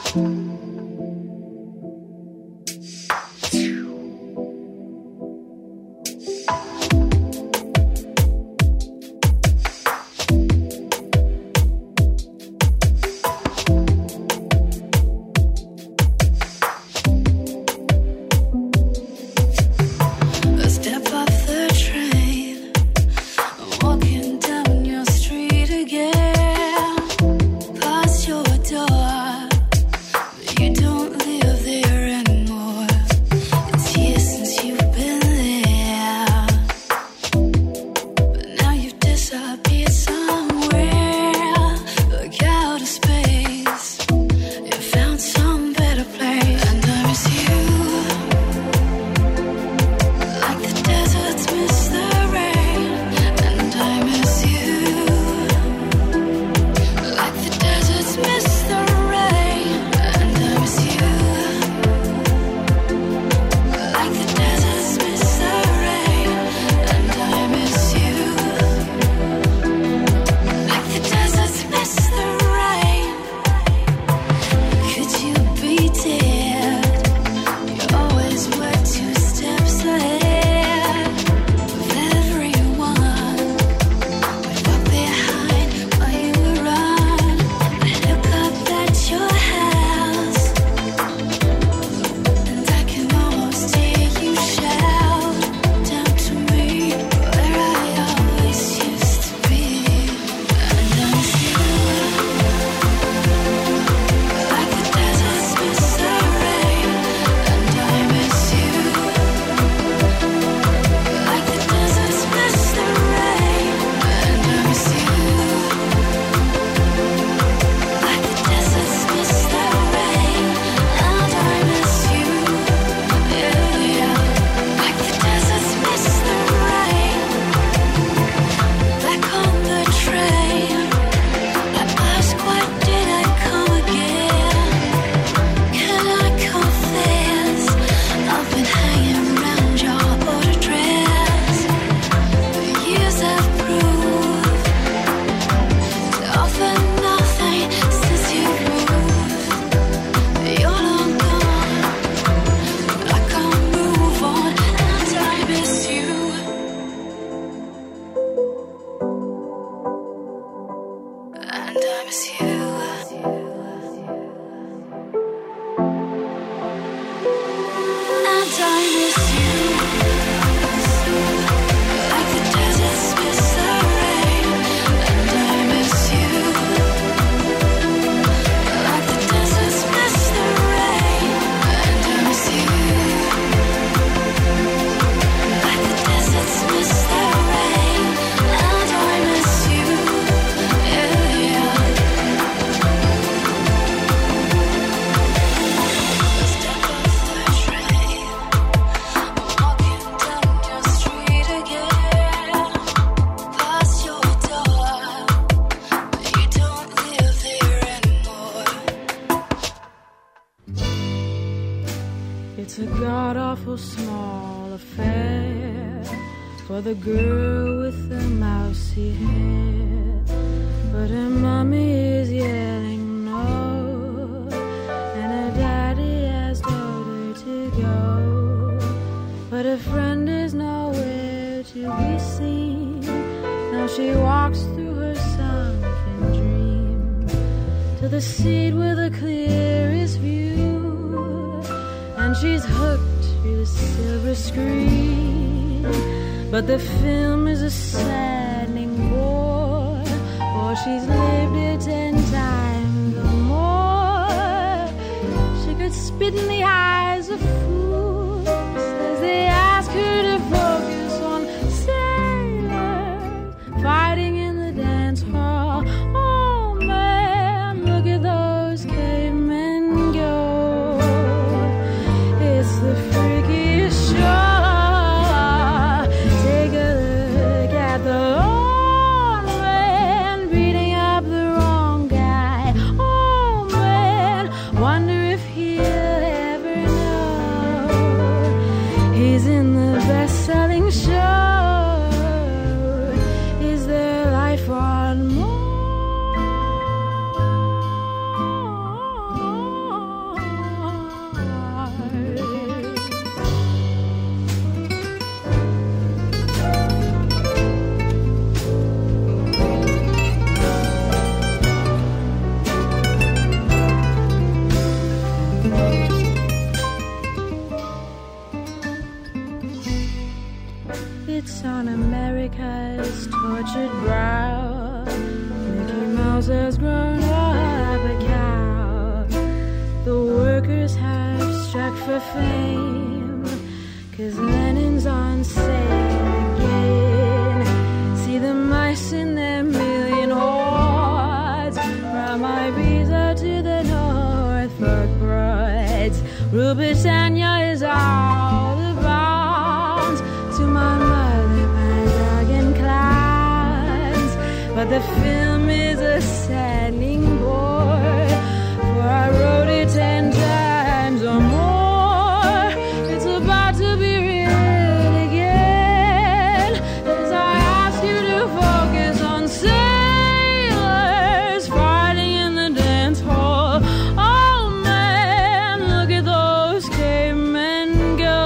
It's a god-awful small affair for the girl with the mousy hair, but her mommy is yelling no, and her daddy has told her to go, but her friend is nowhere to be seen. Now she walks through her sunken dream to the seat with the clearest view, and she's hooked to the silver screen. But the film is a saddening bore, for she's lived it ten times or more. She could spit in the eyes of fools as they ask her to focus on sailors fighting in the dance hall. Oh man, look at those cavemen go. It's the freakiest show. Take a look at the old man beating up the wrong guy. Oh man, wonder if he'll ever know he's in the best-selling show. Is there life on Mars? while. Mickey Mouse has grown up a cow. The workers have struck for fame, 'cause Lenin's on sale again. See the mice in their million hordes, from Ibiza to the Norfolk Broads. Rule Britannia is out of bounds. To my mother, my dog and clowns. But the film is a saddening bore, for I wrote it ten times or more. It's about to be read again, as I ask you to focus on sailors fighting in the dance hall. Oh man, look at those cavemen go.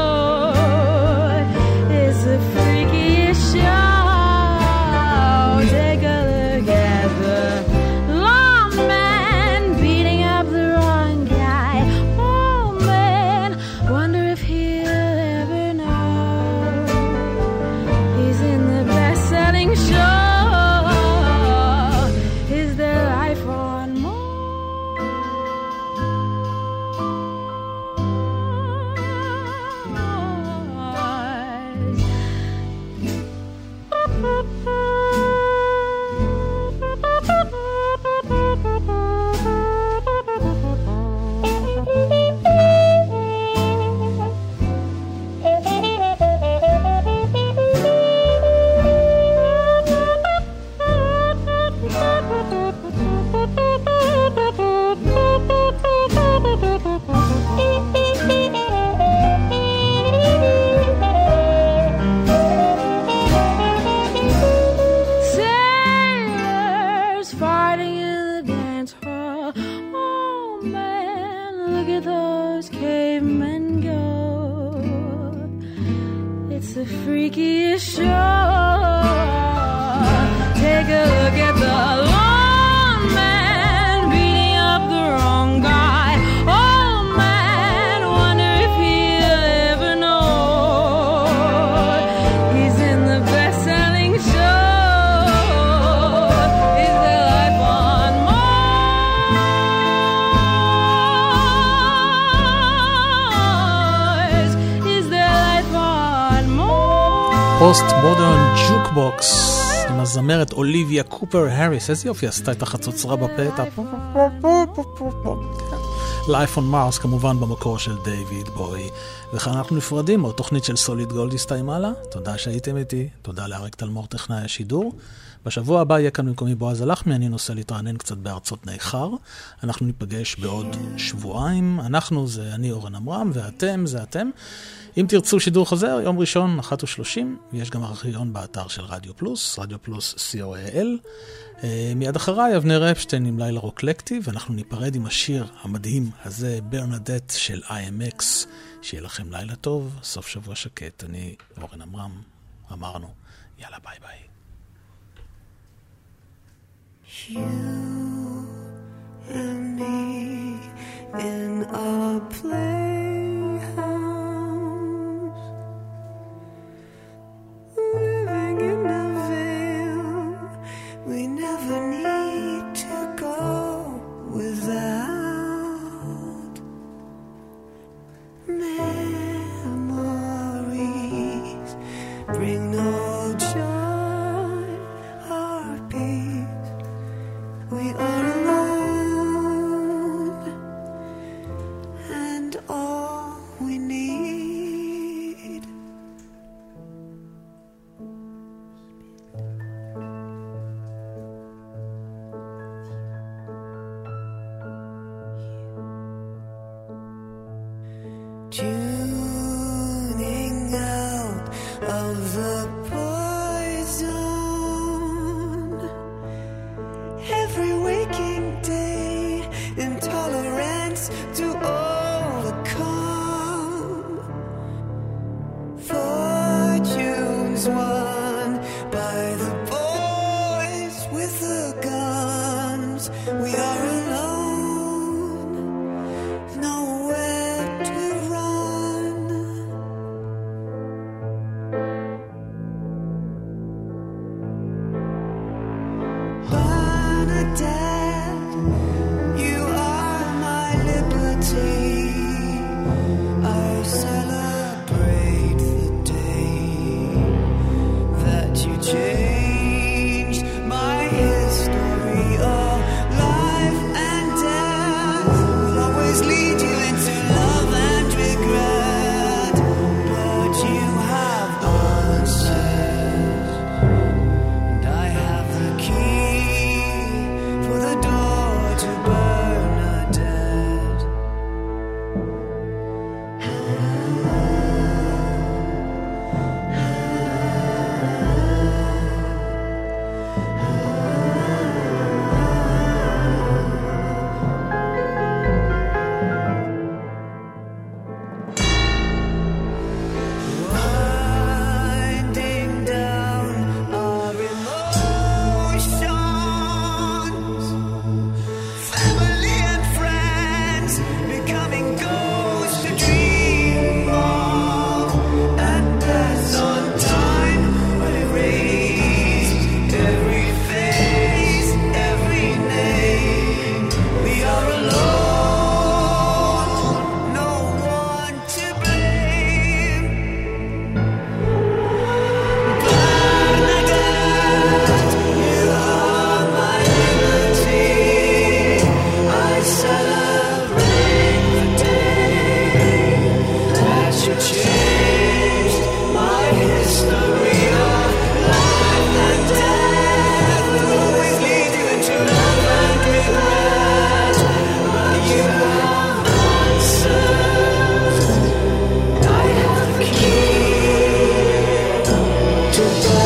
It's the freakiest show. Take a look at the lawman beating up the wrong guy. Oh man, wonder if he'll ever know he's in the best-selling show. Is there life on sailors fighting in the dance hall? Oh man, look at those cavemen go. It's the freakiest show. Take a look at the lawman beating up the wrong guy. Oh man, wonder if he'll ever know he's in the best-selling show. Is there life on Mars? Is there life on Mars? פוסט מודרן ג'וקבוקס עם הזמרת אוליביה קופר הריס. איזה יופי עשתה את החצוצרה בפתע. Life on Mars כמובן במקור של דיוויד בוי. וכאן אנחנו נפרדים עוד תוכנית של סוליד גולד הסתיימה לה. תודה שהייתם איתי, תודה לאריק תלמור טכנאי השידור. בשבוע הבא יהיה כאן במקומי בועז הלחמי, אני נוסע להתרענן קצת בארצות ניכר. אנחנו ניפגש בעוד שבועיים. אנחנו זה אני אורן אמרם, ואתם זה אתם. אם תרצו שידור חוזר, יום ראשון, אחת ושלושים, יש גם ארכיון באתר של רדיו פלוס, רדיו פלוס סי או אל. מיד אחריי, אבנר אפשטיין עם לילה רוקלקטיב, ואנחנו ניפרד עם השיר המדהים הזה, ברנדט של איי אם אקס. שיהיה לכם לילה טוב, סוף שבוע שקט. אני אורן אמרם, אמרנו, יאללה ביי ביי. You and me in a playhouse, living in a veil we never need to go without. Memories bring no joy or peace. We Bernadette, you are my liberty. I celebrate the day that you changed my history of life and death. Will always lead you into love and regret, but you have answered, and I have the key for the door to Bernadette. Winding down our emotions, family and friends becoming ghosts to dream of, and as on time will erase every face, every name. We are alone, no one to blame. Bernadette, you are my liberty. I celebrate the day that you changed my history of life and death. Will always lead you into love and regret, but you have answered. I have the key to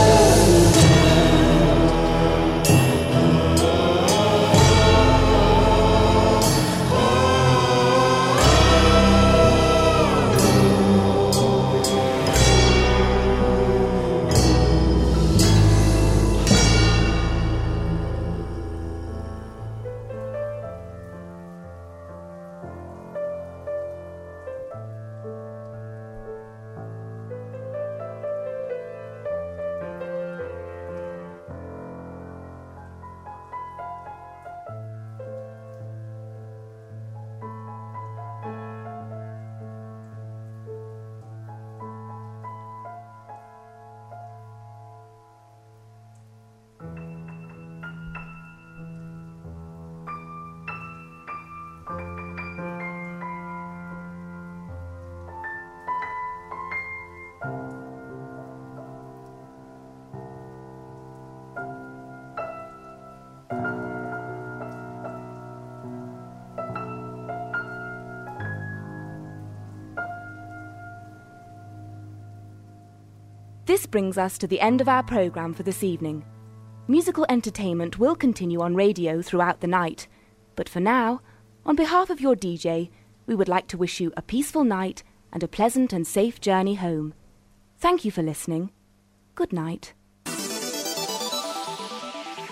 This brings us to the end of our programme for this evening. Musical entertainment will continue on radio throughout the night, but for now, on behalf of your D J, we would like to wish you a peaceful night and a pleasant and safe journey home. Thank you for listening. Good night.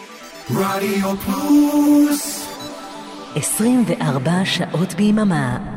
רדיו פלוס עשרים וארבע שעות ביממה